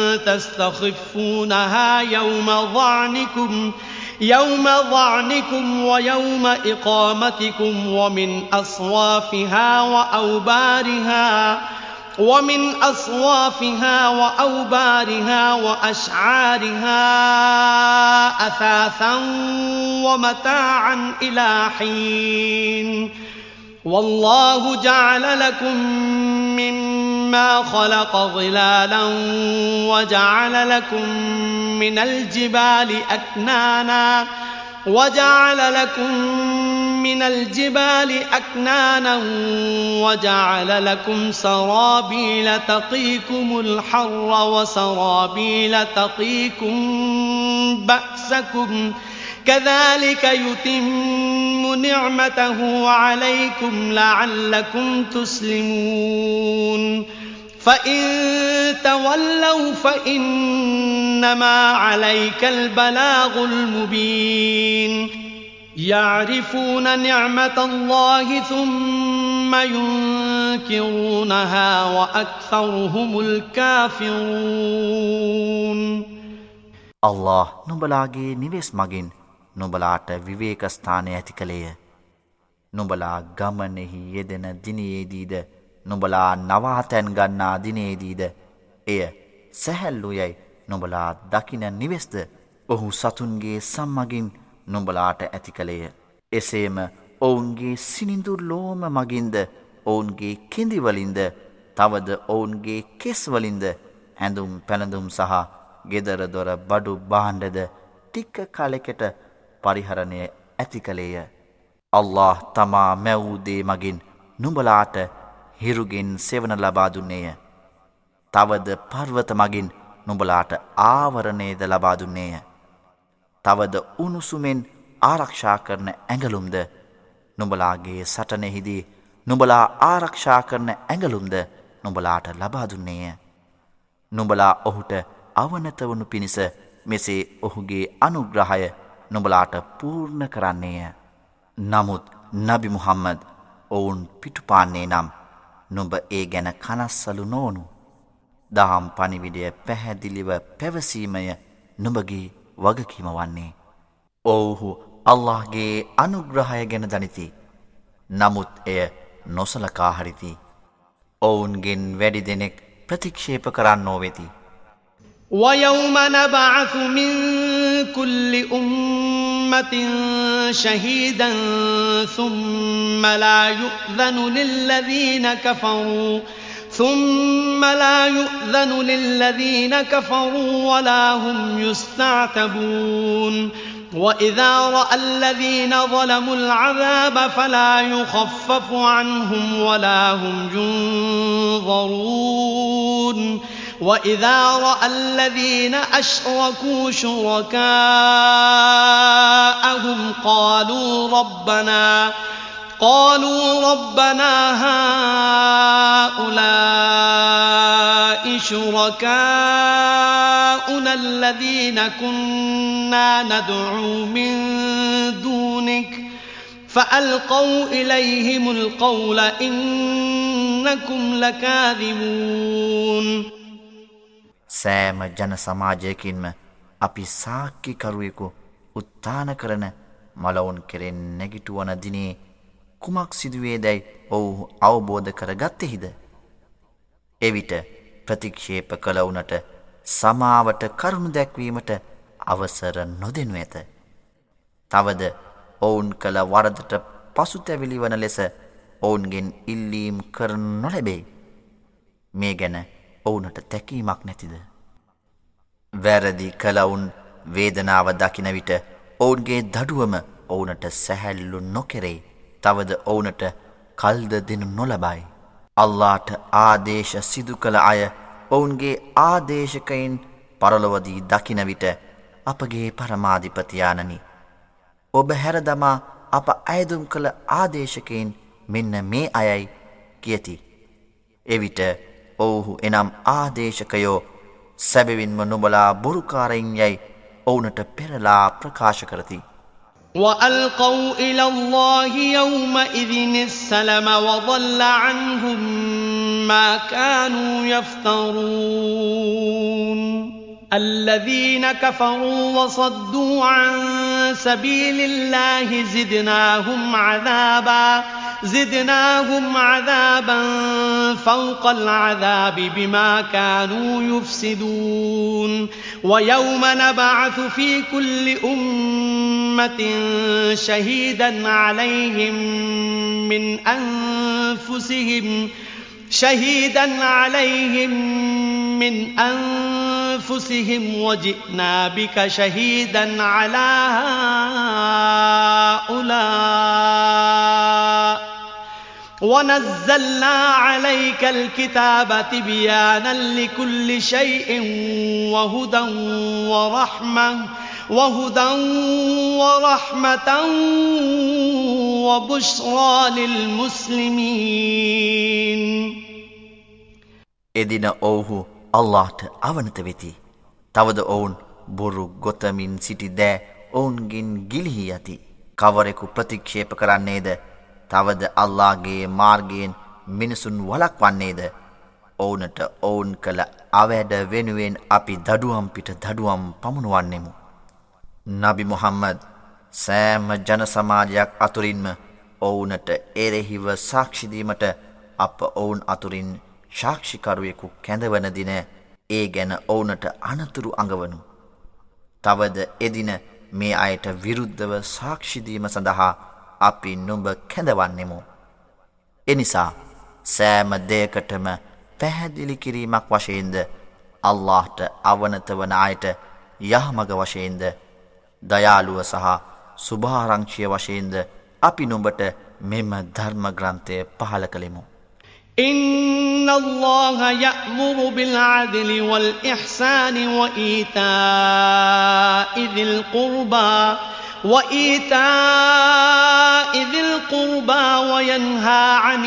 تستخفونها يوم ظعنكم يوم ظعنكم ويوم إقامتكم ومن أصوافها وأوبارها ومن أصوافها وأوبارها وأشعارها أثاثا ومتاعا إلى حين والله جعل لكم مما خلق ظلالا وجعل لكم من الجبال أكنانا وجعل لكم من الجبال أكنانا وجعل لكم سرابيل تقيكم الحر وسرابيل تقيكم بأسكم كذلك يتم نعمته عليكم لعلكم تسلمون فإن تولوا فإنما عليك البلاغ المبين يعرفون نعمة الله ثم ينكرونها وأكثرهم الكافرون අල්ලාහ් නුඹලාගේ නිවෙස් මගින් නුඹලාට විවේක ස්ථානය ඇති කළේය. නුඹලා ගමනෙහි යෙදෙන දිනයේදීද නුඹලා නවාතැන් ගන්නා දිනේදීද එය සැහැල්ලුයයි නුඹලා දකින නිවෙස්ද ඔහු සතුන්ගේ සම්මගින් නුඹලාට ඇති කළේය. එසේම ඔවුන්ගේ සිනිඳු ලෝම මගින්ද ඔවුන්ගේ කෙඳිවලින්ද තවද ඔවුන්ගේ කෙස්වලින්ද හැඳුම් පැළඳුම් සහ ගෙදර දොර බඩු භාණ්ඩද ටික කලෙකට පරිහරණය ඇති කළේය. අල්ලාහ් තමා මැවූ දේ මගින් නුඹලාට හිරුගෙන් සෙවන ලබා දුන්නේය. තවද පර්වත මගින් නුඹලාට ආවරණයද ලබා දුන්නේය. තවද උණුසුමෙන් ආරක්ෂා කරන ඇඟලුම්ද නුඹලාගේ සටනෙහිදී නුඹලා ආරක්ෂා කරන ඇඟලුම්ද නුඹලාට ලබා දුන්නේය. නුඹලා ඔහුට අවනත වනු පිණිස මෙසේ ඔහුගේ අනුග්‍රහය නුඹලාට පූර්ණ කරන්නේය. නමුත් නබි මුහම්මද් ඔවුන් පිටුපාන්නේ නම් නුඹ ඒ ගැන කනස්සලු නොවනු. දහම් පණිවිඩය පැහැදිලිව පැවසීමය නුඹගේ වගකීම වන්නේ. ඔවුහු අල්ලාහ්ගේ අනුග්‍රහය ගැන දනිති. නමුත් එය නොසලකා හරිති. ඔවුන්ගෙන් වැඩි දෙනෙක් ප්‍රතික්ෂේප කරන්නෝ වෙති. ويوم نبعث من كل أمة شهيدا ثم لا يؤذن للذين كفروا ثم لا يؤذن للذين كفروا ولا هم يستعتبون وإذا رأى الذين ظلموا العذاب فلا يخفف عنهم ولا هم ينظرون وإذا رأى الذين أشركوا شركاءهم قالوا ربنا قالوا ربنا هؤلاء شركاؤنا الذين كنا ندعو من دونك فألقوا إليهم القول إنكم لكاذبون සෑම ජන සමාජයකින්ම අපි සාක්කිකරුවෙකු උත්තාන කරන මලවුන් කෙරෙන් නැගිටුවන දිනේ කුමක් සිදුවේදැයි ඔවුහු අවබෝධ කරගත්තෙහිද? එවිට ප්‍රතික්ෂේප කළවුනට සමාවට කරුණු දැක්වීමට අවසර නොදෙනු ඇත. තවද ඔවුන් කළ වරදට පසුතැවිලි වන ලෙස ඔවුන්ගෙන් ඉල්ලීම් කරනු නොලැබේ. මේ ගැන ඔවුනට තැකීමක් නැතිද? වැරදි කළවුන් වේදනාව දකින විට ඔවුන්ගේ දඩුවම ඔවුනට සැහැල්ලු නොකෙරේ. තවද ඔවුනට කල්ද දෙනු නොලබයි. අල්ලාහට ආදේශ සිදු කළ අය ඔවුන්ගේ ආදේශකයින් පරලොවදී දකින විට අපගේ පරමාධිපතියාණනි, ඔබ හැරදමා අප අයදුම් කළ ආදේශකයින් මෙන්න මේ අයයි කියති. එවිට ඔවුහු එනම් ආදේශකයෝ සැබවින්ම නුඹලා බොරුකාරයින් යයි ඔවුනට පෙරලා ප්‍රකාශ කරති. وألقوا إلى الله يومئذ السلم وضل عنهم ما كانوا يفترون الذين كفروا وصدوا عن سبيل الله زدناهم عذابا زدناهم عذابا فوق العذاب بما كانوا يفسدون ويوم نبعث في كل أمة شهيدا عليهم من أنفسهم شهيدا عليهم من أنفسهم وجئنا بك شهيدا على هؤلاء ونزلنا عليك الكتاب تبيانا لكل شيء وهدى ورحمة وهدى ورحمة وبشرى للمسلمين එදින ඔවුහු අල්ලාහට අවනත වෙති. තවද ඔවුන් බොරු ගොතමින් සිටි දෑ ඔවුන්ගෙන් ගිලිහි යති. කවරෙකු ප්‍රතික්ෂේප කරන්නේද? තවද අල්ලාහගේ මාර්ගයෙන් මිනිසුන් වළක්වන්නේද? ඔවුනට ඔවුන් කළ අවැඩ වෙනුවෙන් අපි දඩුවම් පිට දඩුවම් පමුණුවන්නෙමු. නබි මුහම්මද් සෑම ජන සමාජයක් අතුරින්ම ඔවුනට එරෙහිව සාක්ෂි දීමට අප ඔවුන් අතුරින් සාක්ෂිකරුවෙකු කැඳවන දින ඒ ගැන ඔවුනට අනතුරු අඟවනු. තවද එදින මේ අයට විරුද්ධව සාක්ෂි දීම සඳහා අපි නුඹ කැඳවන්නෙමු. එනිසා සෑම දෙයකටම පැහැදිලි කිරීමක් වශයෙන්ද අල්ලාහට අවනත වන අයට යහමග වශයෙන්ද දයාලුව සහ සුභාරංචිය වශයෙන්ද අපි නුඹට මෙම ධර්ම ග්‍රන්ථය පහල කළෙමු. إن الله يأمر بالعدل والإحسان وإيتاء ذي القربى وإيتاء ذي القربى وينهى عن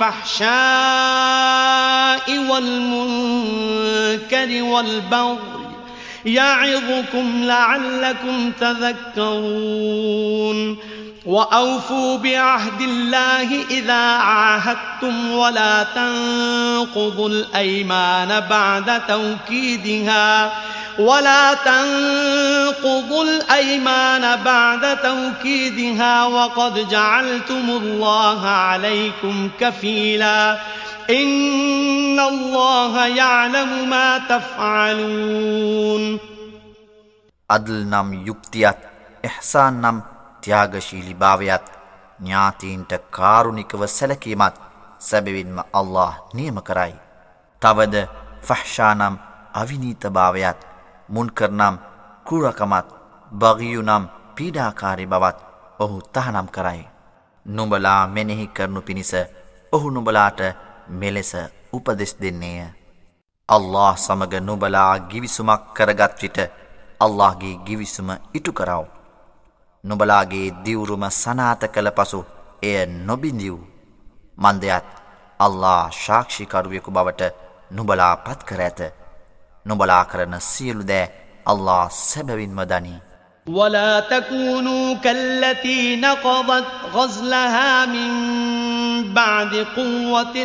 الفحشاء والمنكر والبغي يعظكم لعلكم تذكرون وأوفوا بعهد الله إذا عاهدتم ولا تنقضوا الأيمان بعد توكيدها ولا تنقضوا الأيمان بعد توكيدها وقد جعلتم الله عليكم كفيلا إن الله يعلم ما تفعلون. අදල් නම් යුක්තියත් ඉහ්සාන් නම් ත්‍යාගශීලී භාවයත් ඥාතීන්ට කාරුණිකව සැලකීමත් සැබවින්ම අල්ලාහ් නියම කරයි. තවද ෆහ්ෂා නම් අවිනීත භාවයත් මුන්කර් නම් ක්‍රූරකමත් බගියු නම් පීඩාකාරී බවත් ඔහු තහනම් කරයි. නුඹලා මෙනෙහි කරනු පිණිස ඔහු නුඹලාට මෙලෙස උපදෙස් දෙන්නේය. අල්ලාහ් සමග නුඹලා ගිවිසුමක් කරගත් විට අල්ලාහ්ගේ ගිවිසුම ඉටු කරව. නුඹලාගේ දිවුරුම සනාත කළ පසු එය නොබිඳිව්. මන්දයත් අල්ලාහ් සාක්ෂිකරුවෙකු බවට නුඹලා පත් කර ඇත. නුඹලා කරන සියලු දෑ අල්ලාහ් සැබවින්ම දනී. ولا تكونوا كالتي نقضت غزلها من بعد قوة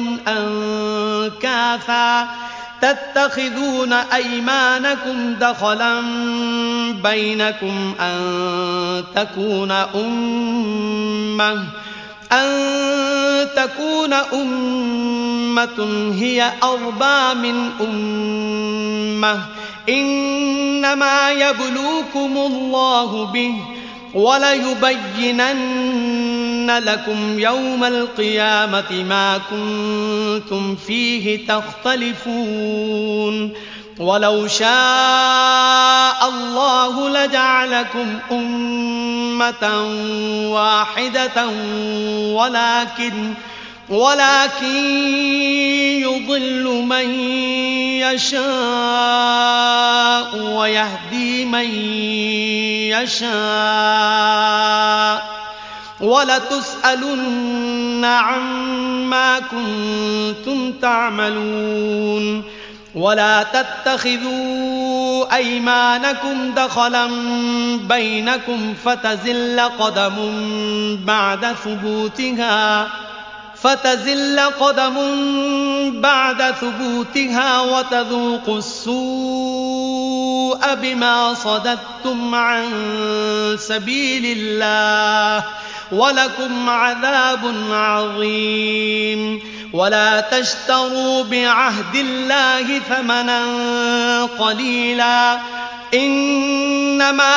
أنكاثا تتخذون أيمانكم دخلا بينكم أن تكون أمة أن تكون أمة هي أربى من أمة إنما يبلوكم الله به وليبينن لكم يوم القيامة ما كنتم فيه تختلفون ولو شاء الله لجعلكم أمة واحدة ولكن ولكن يضل من يشاء ويهدي من يشاء ولتسألن عما كنتم تعملون ولا تتخذوا أيمانكم دخلا بينكم فتزل قدم بعد ثبوتها فتزل قدم بعد ثبوتها وتذوقوا السوء بما صددتم عن سبيل الله ولكم عذاب عظيم ولا تشتروا بعهد الله ثمنا قليلا إنما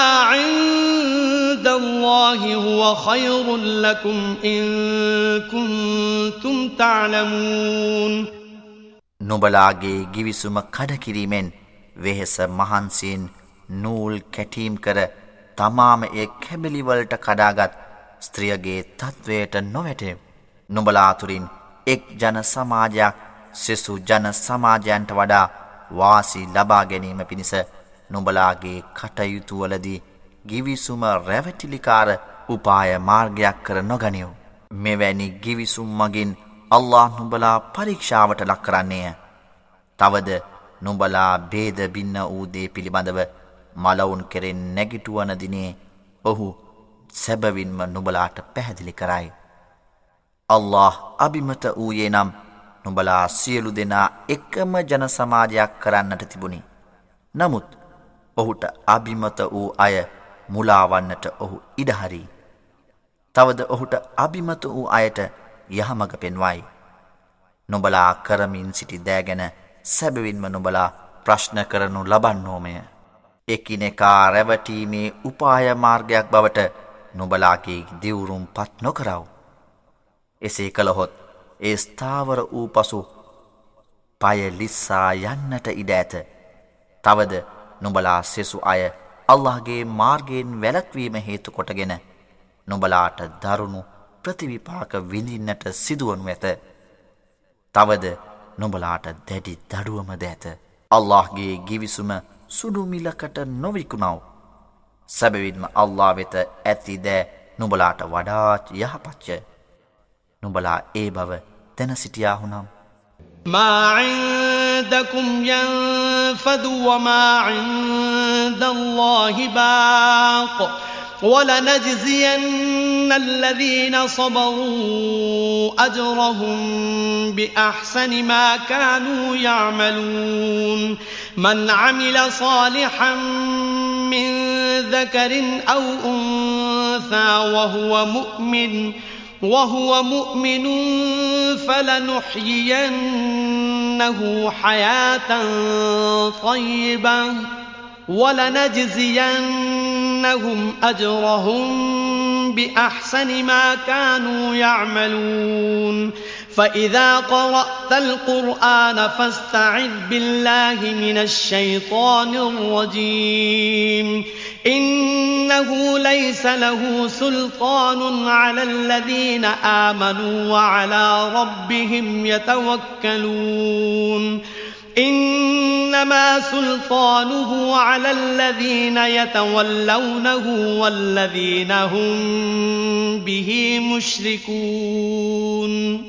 عند الله هو خير لكم إن كنتم تعلمون. නුඹලාගේ ගිවිසුම කඩකිරීමෙන් වෙහෙස මහන්සියෙන් නූල් කැටීම් කර තමාම ඒ කැබලිවලට කඩාගත් ස්ත්‍රියගේ තත්වයට නොවැටෙව්. නුඹලා අතුරින් එක් ජන සමාජයක් සෙසු ජන සමාජයන්ට වඩා වාසි ලබා ගැනීම පිණිස නුඹලාගේ කටයුතුවලදී ගිවිසුම රැවටිලිකාර උපාය මාර්ගයක් කර නොගනිව්. මෙවැනි ගිවිසුම් මගින් අල්ලාහ් නුඹලා පරීක්ෂාවට ලක් කරන්නේය. තවද නුඹලා ભેද බින්න වූ දේ පිළිබඳව මලවුන් කෙරෙන් නැගිටුවන දිනේ ඔහු සැබවින්ම නුඹලාට පැහැදිලි කරයි. අල්ලාහ් අබිමත වූයේ නම් නුඹලා සියලු දෙනා එකම ජන සමාජයක් කරන්නට තිබුණි. නමුත් ඔහුට අබිමත වූ අය මුලාවන්නට ඔහු ඉඩහරි. තවද ඔහුට අබිමත වූ අයට යහමඟ පෙන්වයි. නුඹලා කරමින් සිටි දෑ ගැන සැබවින්ම නුඹලා ප්‍රශ්න කරනු ලබන්නෝමය. එකිනෙකා රැවටීමේ උපාය මාර්ගයක් බවට නුඹලාගේ දිවුරුම් පත් නොකරව. එසේ කළහොත් ඒ ස්ථාවර වූ පසු පය ලිස්සා යන්නට ඉඩ ඇත. තවද නුඹලා සෙසු අය අල්ලාහ්ගේ මාර්ගයෙන් වැළැක්වීම හේතු කොටගෙන නුඹලාට දරුණු ප්‍රතිවිපාක විඳින්නට සිදුවනු ඇත. තවද නුඹලාට දැඩි දඩුවමද ඇත. අල්ලාහ්ගේ ගිවිසුම සුඩු මිලකට නොවිකුණව. සැබවින්ම අල්ලාහ් වෙත ඇති දෑ නුඹලාට වඩාත් යහපත්ය. නුඹලා ඒ බව දැන සිටියාහුනම් ما عندكم ينفد وما عند الله باق ولنجزين الذين صبروا أجرهم بأحسن ما كانوا يعملون من عمل صالحا من ذكر أو أنثى وهو مؤمن وهو مؤمن فلنحيينه حياة طيبة ولنجزينهم أجرهم بأحسن ما كانوا يعملون فإذا قرأت القرآن فاستعذ بالله من الشيطان الرجيم إنه ليس له سلطان على الذين آمنوا وعلى ربهم يتوكلون إنما سلطانه على الذين يتولونه والذين هم به مشركون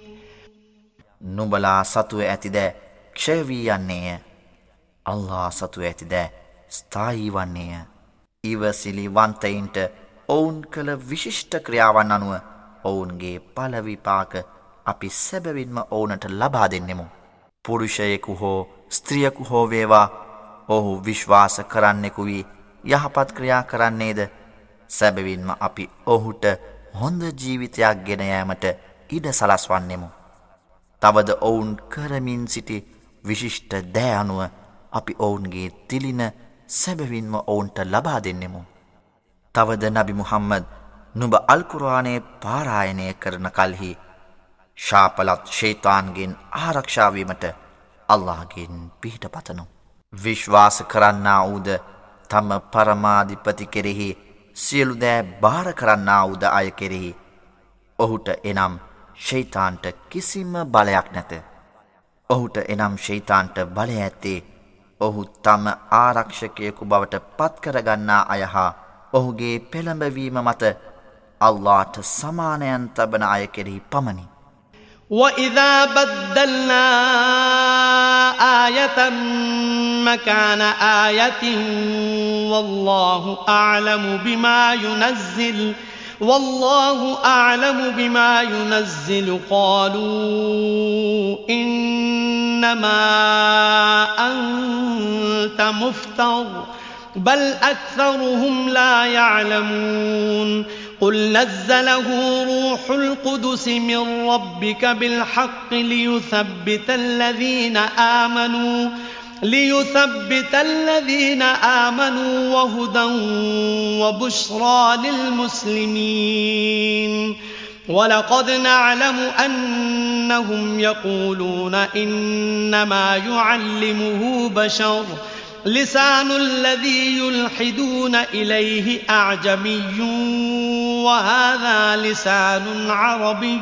නුඹලා සතුව ඇතිද ක්ෂය වී යන්නේය. අල්ලා සතුව ඇතිද ස්ථායී වන්නේය. ඉවසිලිවන්තයින්ට ඔවුන් කළ විශිෂ්ට ක්‍රියාවන් අනුව ඔවුන්ගේ පළ විපාක අපි සැබවින්ම ඔවුනට ලබා දෙන්නෙමු. පුරුෂයෙකු හෝ ස්ත්‍රියකු හෝ වේවා ඔහු විශ්වාස කරන්නෙකු වී යහපත් ක්‍රියා කරන්නේද සැබවින්ම අපි ඔහුට හොඳ ජීවිතයක් ගෙන යාමට ඉඩ සලස්වන්නෙමු. තවද ඔවුන් කරමින් සිටි විශිෂ්ට දෑ අනුව අපි ඔවුන්ගේ තිලින සැබවින්ම ඔවුන්ට ලබා දෙන්නෙමු. තවද නබි මුහම්මද් නුඹ අල් කුර්ආනයේ පාරායනය කරන කල්හි ශාපලත් ෂයිතාන්ගෙන් ආරක්ෂා වීමට අල්ලාහ්ගෙන් පිහිට පතනු. විශ්වාස කරන්නා වූද තම පරමාධිපති කෙරෙහි සියලු දෑ බාර කරන්නා වූද අය කෙරෙහි ඔහුට එනම් ෂයිතාන්ට කිසිම බලයක් නැත. ඔහුට එනම් ෂයිතාන්ට බලය ඇත්තේ ඔහු තම ආරක්ෂකයෙකු බවට පත් කරගන්නා අය හා ඔහුගේ පෙළඹවීම මත අල්ලාහ්ට සමානයන් තබන අය කෙරෙහි පමණි. وَإِذَا بَدَّلْنَا آيَةً مَكَانَ آيَةٍ وَاللَّهُ أَعْلَمُ بِمَا يُنَزِّلُ وَاللَّهُ أَعْلَمُ بِمَا يُنَزِّلُ قَالُوا إِنَّمَا أَنْتَ مُفْتَرٍ بَلْ أَكْثَرُهُمْ لَا يَعْلَمُونَ قُلْ نَزَّلَهُ رُوحُ الْقُدُسِ مِنْ رَبِّكَ بِالْحَقِّ لِيُثَبِّتَ الَّذِينَ آمَنُوا لِيُثَبِّتَ الَّذِينَ آمَنُوا وَهُدًى وَبُشْرَى لِلْمُسْلِمِينَ وَلَقَدْ نَعْلَمُ أَنَّهُمْ يَقُولُونَ إِنَّمَا يُعَلِّمُهُ بَشَرٌ لسان الذي يلحدون إليه أعجمي وهذا لسان عربي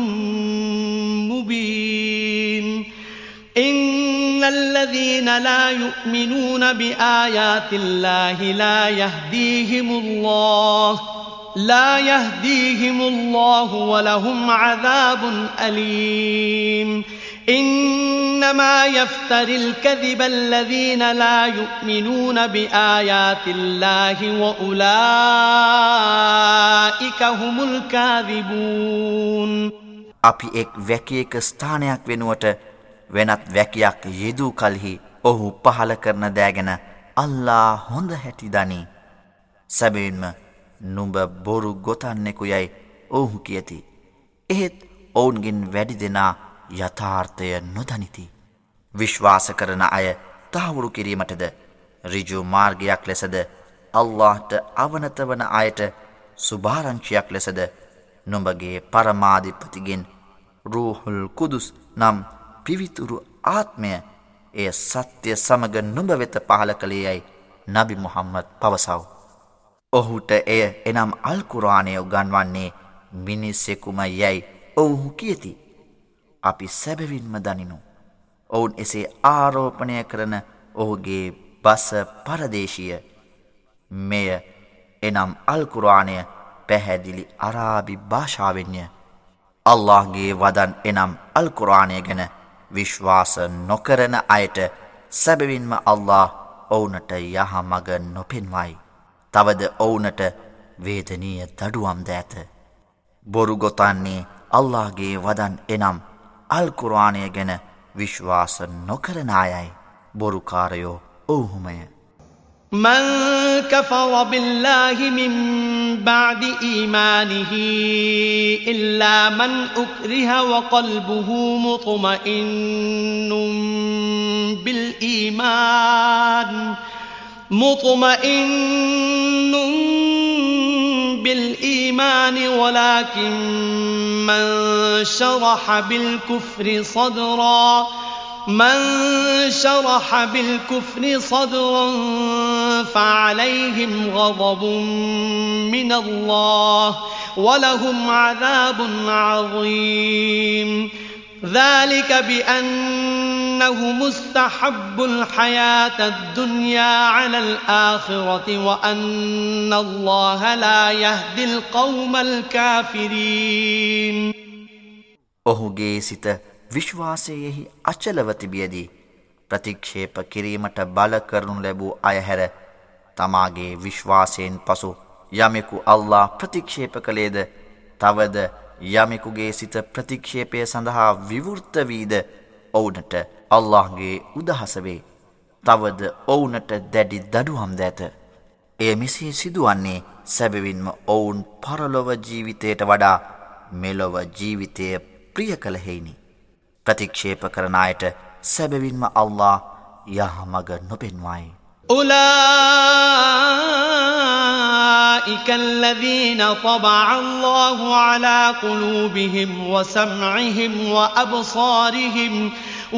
مبين إن الذين لا يؤمنون بآيات الله لا يهديهم الله لا يهديهم الله ولهم عذاب أليم إنما يفتري الكذب الذين لا يؤمنون بآيات الله وأولئك هم الكاذبون අපි එක් වැකියක ස්ථානයක් වෙනුවට වෙනත් වැකියක් යෙදූ කලෙහි ඔහු පහල කරන දෑ ගැන අල්ලා හොඳ හැටි දනි. සැබවින්ම නුඹ බොරු ගොතන්නෙකු යයි ඔහු කියති. එහෙත් ඔවුන්ගෙන් වැඩි දෙනා යථාර්ථය නොදනිති. විශ්වාස කරන අය තහවුරු කිරීමටද ඍජු මාර්ගයක් ලෙසද අල්ලාහ්ට අවනත වන අයට සුභාරංචියක් ලෙසද නුඹගේ පරමාධිපතිගෙන් රූහුල් කුදුස් නම් පිවිතුරු ආත්මය එය සත්‍ය සමග නුඹ වෙත පහල කළේ යයි නබි මුහම්මද් පවසව. ඔහුට එය එනම් අල් කුර්ආනය උගන්වන්නේ මිනිසෙකුම යයි ඔහු කියති. අපි සැබවින්ම දනිනු. ඔවුන් එසේ ආරෝපණය කරන ඔහුගේ බස පරදේශීය. මෙය එනම් අල් කුර්ආනය පැහැදිලි අරාබි භාෂාවෙන්ය. අල්ලාහ්ගේ වදන් එනම් අල් කුර්ආනය ගැන විශ්වාස නොකරන අයට සැබවින්ම අල්ලාහ් ඔවුනට යහමඟ නොපෙන්වයි. තවද ඔවුනට වේදනීය දඩුවම්ද ඇත. බොරු ගොතන්නේ අල්ලාහ්ගේ වදන් එනම් අල් කුර්ආනය ගැන විශ්වාස නොකරන අයයි. බොරුකාරයෝ ඔවුහුමය. من كفر بالله من بعد إيمانه إلا من أكره وقلبه مطمئن بالإيمان مطمئن بالإيمان ولكن من شرح بالكفر صدرا من شرح بالكفر صدرا فعليهم غضب من الله ولهم عذاب عظيم ذلك بأنه مستحب الحياة الدنيا على الآخرة وأن الله لا يهدي القوم الكافرين ඔහුගේ සිත විශ්වාසයෙහි අචලව තිබියදී ප්‍රතික්ෂේප කිරීමට බල කරනු ලැබූ අය හැර තමාගේ විශ්වාසයෙන් පසු යමෙකු අල්ලාහ් ප්‍රතික්ෂේප කළේද තවද යමෙකුගේ සිත ප්‍රතික්ෂේපය සඳහා විවෘත වීද ඔවුනට අල්ලාහ්ගේ උදහස වේ. තවද ඔවුනට දැඩි දඩුවම් ද ඇත. එය මෙසේ සිදුවන්නේ සැබවින්ම ඔවුන් පරලොව ජීවිතයට වඩා මෙලොව ජීවිතය ප්‍රිය කළ හේිනි. ප්‍රතික්ෂේප කරන අයට සැබවින්ම අල්ලාහ් යහමඟ නොපෙන්වයි. أولئك الذين طبع الله على قلوبهم وسمعهم وأبصارهم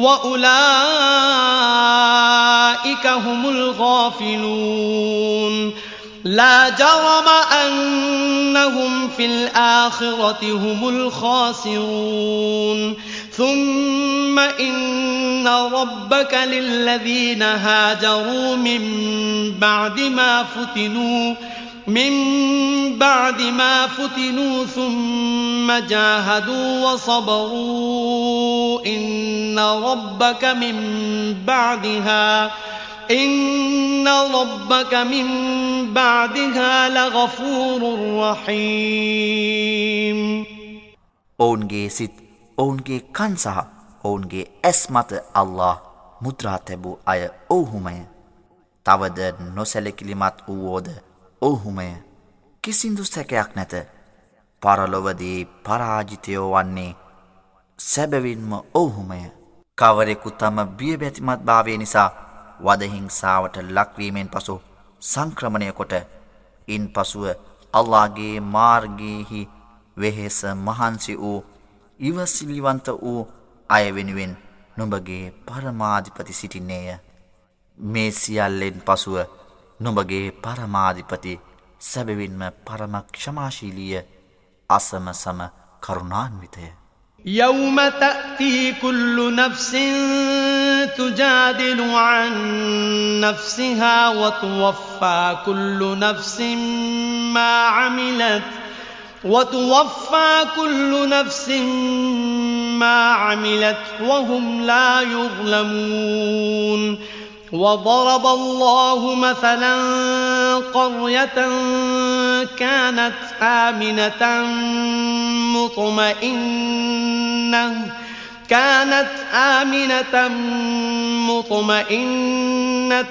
وأولئك هم الغافلون لا جرم أنهم في الآخرة هم الخاسرون ثم إن ربك للذين هاجروا من بعد ما فتنوا من بعد ما فتنوا ثم جاهدوا وصبروا إن ربك من بعدها إن ربك من بعدها لغفور رحيم ඔවුන්ගේ සිත් ඔවුන්ගේ කන් සහ ඔවුන්ගේ ඇස් මත අල්ලාහ් මුද්‍රා තැබූ අය ඔවුහුමය. තවද නොසැලකිලිමත් වූවෝද ඔවුහුමය. කිසිදු සැකයක් නැත. පරලොවදී පරාජිතයෝ වන්නේ සැබවින්ම ඔවුහුමය. කවරෙකු තම බියබැතිමත් භාවය නිසා වදහිංසාවට ලක්වීමෙන් පසු සංක්‍රමණය කොට ඉන් පසුව අල්ලාහ්ගේ මාර්ගයෙහි වෙහෙස මහන්සි වූ ඉවසිලිවන්ත වූ අය වෙනුවෙන් නුඹගේ පරමාධිපති සිටින්නේය. මේ සියල්ලෙන් පසුව නුඹගේ පරමාධිපති සැබවින්ම පරම ක්ෂමාශීලීය අසමසම කරුණාන්විතය. يوم تأتي كل نفس تجادل عن نفسها وتوفى كل نفس ما عملت وتوفى كل نفس ما عملت وهم لا يظلمون وضرب الله مثلا قرية كانت آمنة مطمئنة كانت آمنة مطمئنة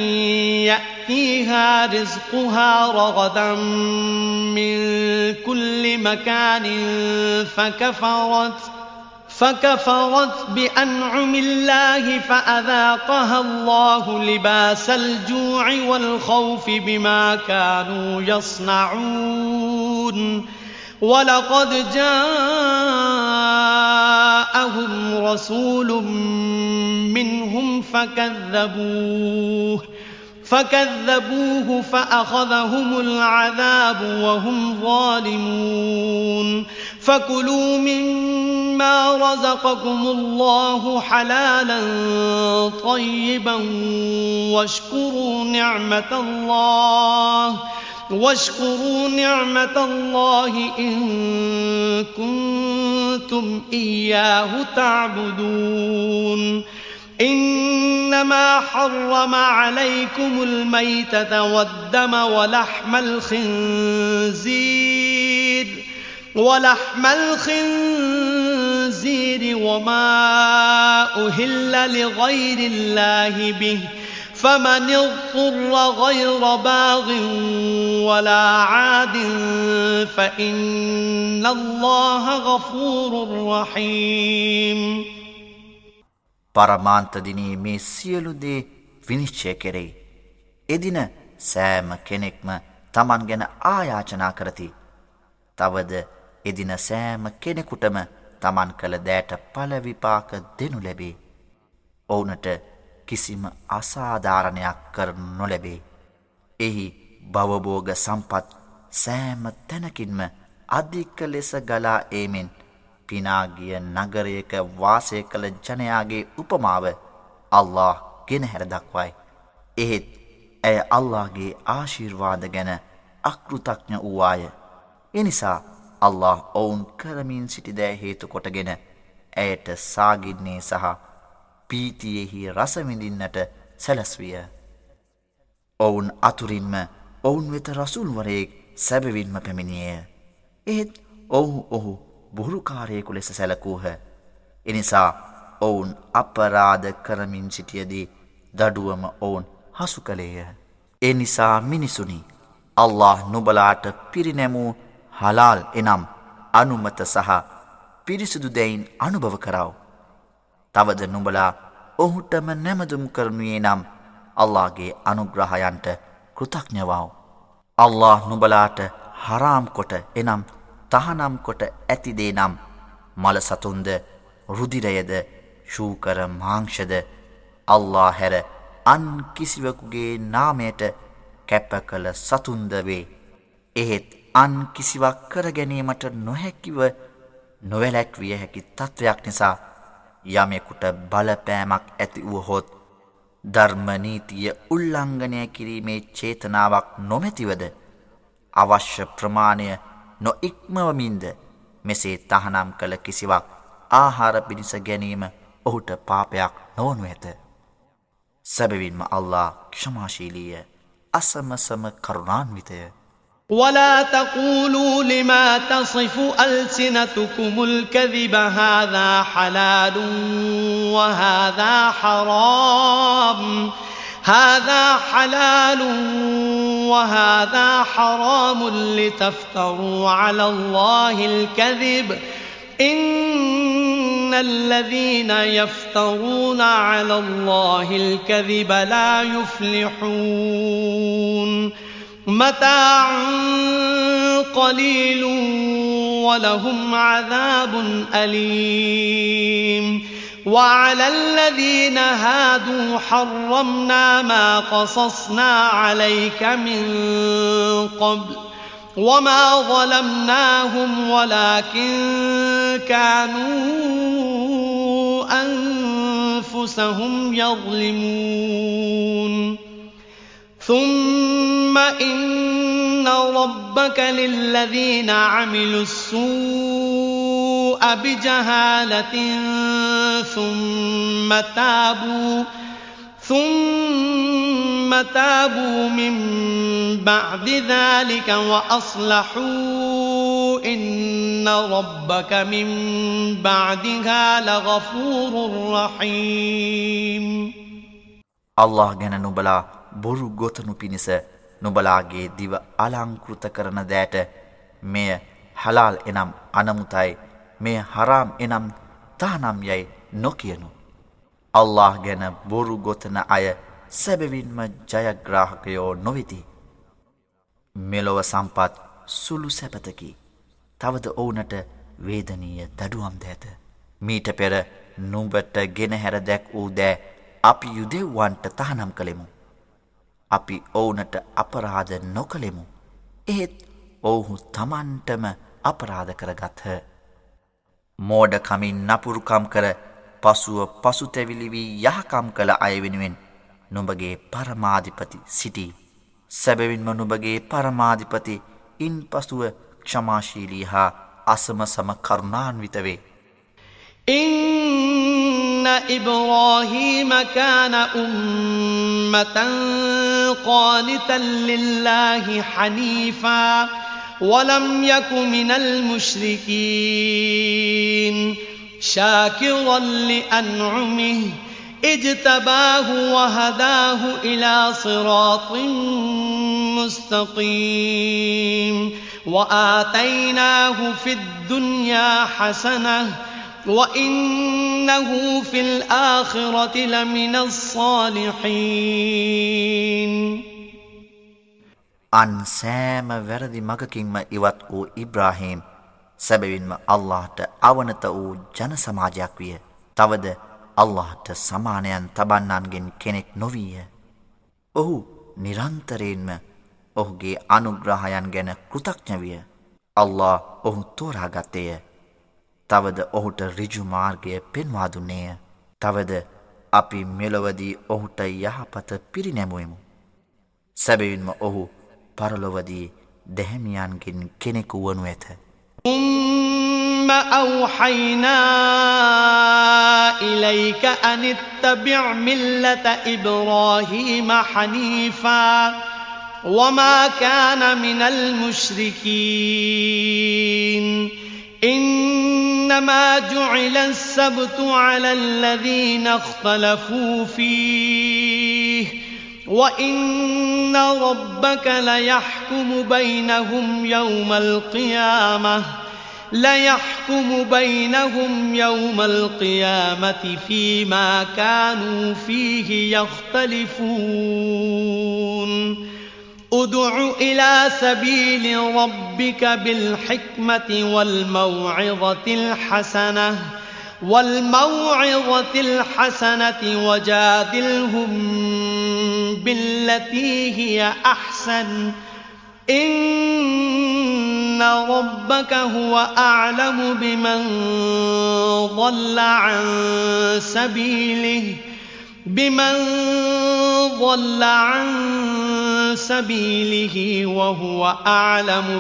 يأتيها رزقها رغدا من كل مكان فكفرت فكفرت بأنعم الله فأذاقها الله لباس الجوع والخوف بما كانوا يصنعون ولقد جاءهم رسول منهم فكذبوه فكذبوه فأخذهم العذاب وهم ظالمون فكلوا مما رزقكم الله حلالا طيبا واشكروا نعمة الله واشكروا نعمة الله إن كنتم إياه تعبدون إنما حرم عليكم الميتة والدم ولحم الخنزير ولحم الخنزير وما أهل لغير الله به فمن اضطر غير باغ ولا عاد فإن الله غفور رحيم. පරමාන්ත දිනේ මේ සියලු දේ විනිශ්චය කෙරෙයි. එදින සෑම කෙනෙක්ම තමන් ගැන ආයාචනා කරති. තවද එදින සෑම කෙනෙකුටම තමන් කළ දෑට පළ විපාක දෙනු ලැබේ. ඔවුනට කිසිම අසාධාරණයක් කර නොලැබේ. එහි භවභෝග සම්පත් සෑම තැනකින්ම අධික ලෙස ගලා ඒමෙන් පිනාගිය නගරයක වාසය කළ ජනයාගේ උපමාව අල්ලාහ් ගෙනහැර දක්වයි. එහෙත් ඇය අල්ලාහ්ගේ ආශිර්වාද ගැන අකෘතඥ වූවාය. එනිසා අල්ලාහ් ඔවුන් කරමින් සිටි දෑ හේතු කොටගෙන ඇයට සාගින්නේ සහ පීතියෙහි රස විඳින්නට සැලැස්විය. ඔවුන් අතුරින්ම ඔවුන් වෙත රසූල්වරයෙක් සැබවින්ම පැමිණියේය. එහෙත් ඔවුහු ඔහු බොරුකාරයෙකු ලෙස සැලකූහ. එනිසා ඔවුන් අපරාධ කරමින් සිටියදී දඩුවම ඔවුන් හසු කළේය. එනිසා මිනිසුනි, අල්ලාහ් නුබලාට පිරිනැමූ හලාල් එනම් අනුමත සහ පිරිසිදු දැයින් අනුභව කරව. තවද නුඹලා ඔහුටම නැමදුම් කරනුයේ නම් අල්ලාහ්ගේ අනුග්‍රහයන්ට කෘතඥ වව්. අල්ලාහ් නුඹලාට හරාම් කොට එනම් තහනම් කොට ඇති දේ නම් මල සතුන්ද රුධිරයද ශූකර මාංශද අල්ලාහ් හැර අන් කිසිවෙකුගේ නාමයට කැප කළ සතුන්ද වේ. එහෙත් අන් කිසිවක් කර ගැනීමට නොහැකිව නොවැළැක්විය හැකි තත්වයක් නිසා යමෙකුට බලපෑමක් ඇති වුවහොත් ධර්ම නීතිය උල්ලංඝනය කිරීමේ චේතනාවක් නොමැතිවද අවශ්‍ය ප්‍රමාණය නොඉක්මවමින්ද මෙසේ තහනම් කළ කිසිවක් ආහාර පිණිස ගැනීම ඔහුට පාපයක් නොවනු ඇත. සැබවින්ම අල්ලාහ් ක්ෂමාශීලීය අසමසම කරුණාන්විතය. ولا تقولوا لما تصف ألسنتكم الكذب هذا حلال وهذا حرام هذا حلال وهذا حرام لتفتروا على الله الكذب إن الذين يفترون على الله الكذب لا يفلحون متاع قليل ولهم عذاب أليم وعلى الذين هادوا حرمنا ما قصصنا عليك من قبل وما ظلمناهم ولكن كانوا أنفسهم يظلمون ثم إن ربك للذين عملوا السوء بجهالة ثم تابوا ثم تابوا من بعد ذلك وأصلحوا إن ربك من بعدها لغفور رحيم. الله ගැන නුඹලා බොරු ගොතනු පිණිස නුඹලාගේ දිව අලංකෘත කරන දෑට මෙය හලාල් එනම් අනමුතයි, මෙය හරාම් එනම් තහනම් යයි නොකියනු. අල්ලාහ් ගැන බොරු ගොතන අය සැබවින්ම ජයග්‍රාහකයෝ නොවෙති. මෙලොව සම්පත් සුළු සැපතකි. තවද ඔවුනට වේදනීය දඩුවම් ද ඇත. මීට පෙර නුඹට ගෙනහැර දැක් වූ දෑ අපි යුදෙව්වන්ට තහනම් කළෙමු. අපි ඔවුනට අපරාධ නොකළෙමු. එහෙත් ඔවුහු තමන්ටම අපරාධ කරගත්හ. මෝඩකමින් නපුරුකම් කර පසුව පසුතැවිලි වී යහකම් කළ අය වෙනුවෙන් නුඹගේ පරමාධිපති සිටී. සැබවින්ම නුඹගේ පරමාධිපති ඉන් පසුව ක්ෂමාශීලී හා අසමසම කරුණාන්විත වේ. إن إبراهيم كان أمة قانتا لله حنيفا ولم يك من المشركين شاكرا لأنعمه اجتباه وهداه إلى صراط مستقيم وآتيناه في الدنيا حسنة وإنه في الآخرة لمن الصالحين අන් සෑම වැරදි මගකින්ම ඉවත් වූ ඉබ්‍රාහීම් සැබවින්ම අල්ලාහට අවනත වූ ජන සමාජයක් විය. තවද අල්ලාහට සමානයන් තබන්නන්ගෙන් කෙනෙක් නොවීය. ඔහු නිරන්තරයෙන්ම ඔහුගේ අනුග්‍රහයන් ගැන කෘතඥ විය. අල්ලාහ් ඔහු තෝරාගත්තේය. තවද ඔහුට ඍජු මාර්ගය පෙන්වා දුන්නේය. තවද අපි මෙලොවදී ඔහුට යහපත පිරිනැමුවෙමු. සැබවින්ම ඔහු පරලොවදී දැහැමියන්ගෙන් කෙනෙකු වනු ඇත. ثُمَّ أَوْحَيْنَا إِلَيْكَ أَنِ اتَّبِعْ مِلَّةَ إِبْرَاهِيمَ حَنِيفًا وَمَا كَانَ مِنَ الْمُشْرِكِينَ إِنَّمَا جُعِلَ السَّبْتُ عَلَى الَّذِينَ اخْتَلَفُوا فِيهِ وَإِنَّ رَبَّكَ لَيَحْكُمُ بَيْنَهُمْ يَوْمَ الْقِيَامَةِ لَيَحْكُمُ بَيْنَهُمْ يَوْمَ الْقِيَامَةِ فِيمَا كَانُوا فِيهِ يَخْتَلِفُونَ ادْعُ إِلَى سَبِيلِ رَبِّكَ بِالْحِكْمَةِ وَالْمَوْعِظَةِ الْحَسَنَةِ وَالْمَوْعِظَةِ الْحَسَنَةِ وَجَادِلْهُمْ بِالَّتِي هِيَ أَحْسَنُ إِنَّ رَبَّكَ هُوَ أَعْلَمُ بِمَنْ ضَلَّ عَنْ سَبِيلِهِ بِمَنْ ضَلَّ عَنْ سَبِيلِهِ وَهُوَ أَعْلَمُ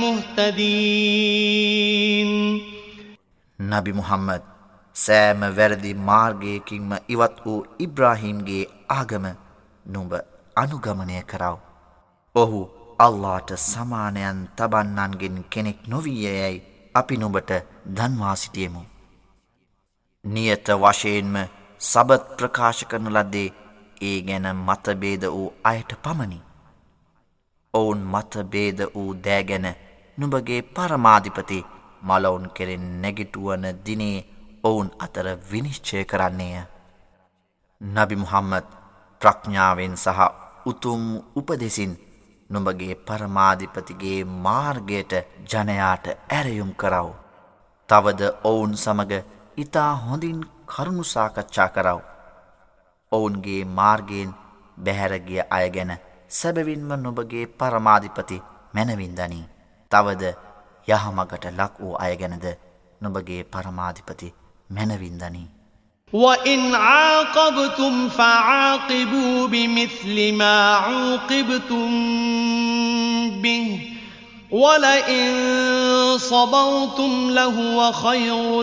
بِالْمُهْتَدِينَ නබි මුහම්මද් සෑම වැරදි මාර්ගයකින්ම ඉවත් වූ ඉබ්‍රාහීම්ගේ ආගම නුඹ අනුගමනය කරව. ඔහු අල්ලාහට සමානයන් තබන්නන්ගෙන් කෙනෙක් නොවීයයයි අපි නුඹට දන්වා සිටියෙමු. නියත වශයෙන්ම සබත් ප්‍රකාශ කරන ලද්දේ ඒ ගැන මතභේද වූ අයට පමණි. ඔවුන් මතභේද වූ දෑ ගැන නුඹගේ පරමාධිපති මලවුන් කෙරෙන් නැගිටුවන දිනේ ඔවුන් අතර විනිශ්චය කරන්නේය. නබි මුහම්මද් ප්‍රඥාවෙන් සහ උතුම් උපදෙසින් නුඹගේ පරමාධිපතිගේ මාර්ගයට ජනයාට ඇරයුම් කරව. තවද ඔවුන් සමග ඉතා හොඳින් කරුණු සාකච්ඡා කරව. ඔවුන්ගේ මාර්ගයෙන් බැහැරගිය අය ගැන සැබවින්ම නුඹගේ පරමාධිපති මැනවින් දනී. තවද යහමගට ලක් වූ අය ගැනද නුඹගේ පරමාධිපති මැනවින් දනී. وَإِنْ عَاقَبْتُمْ فَعَاقِبُوا بِمِثْلِ مَا عُوقِبْتُمْ بِهِ وَلَئِنْ صَبَرْتُمْ لَهُوَ خَيْرٌ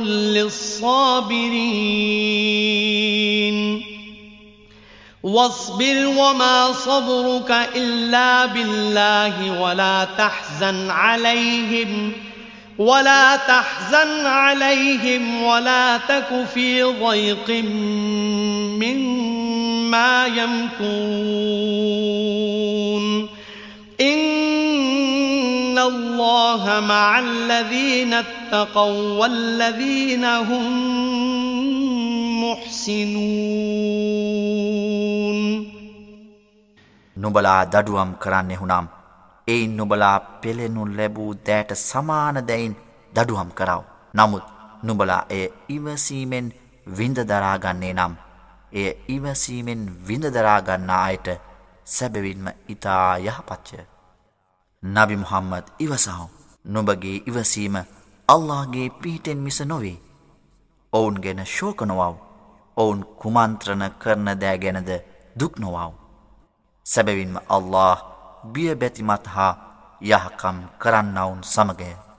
لِلصَّابِرِينَ وَاصْبِرْ وَمَا صَبْرُكَ إِلَّا بِاللَّهِ وَلَا تَحْزَنْ عَلَيْهِمْ ولا تحزن عليهم ولا تك في ضيق مما يمكرون إن الله مع الذين اتقوا والذين هم محسنون නුඹලා දඩුවම් කරන්නේ හුනම් එයින් නුඹලා පෙළෙනු ලැබූ දෑට සමාන දැයින් දඩුවම් කරව. නමුත් නුඹලා එය ඉවසීමෙන් විඳ දරාගන්නේ නම් එය ඉවසීමෙන් විඳ දරාගන්නා අයට සැබවින්ම ඉතා යහපත්ය. නබි මුහම්මද් ඉවසහු. නුඹගේ ඉවසීම අල්ලාහ්ගේ පිහිටෙන් මිස නොවේ. ඔවුන් ගැන ශෝක නොවව්. ඔවුන් කුමන්ත්‍රණ කරන දෑ ගැනද දුක් නොවව්. සැබවින්ම අල්ලාහ් බිය බැතිමත් හා යහකම් කරන්නවුන් සමගය.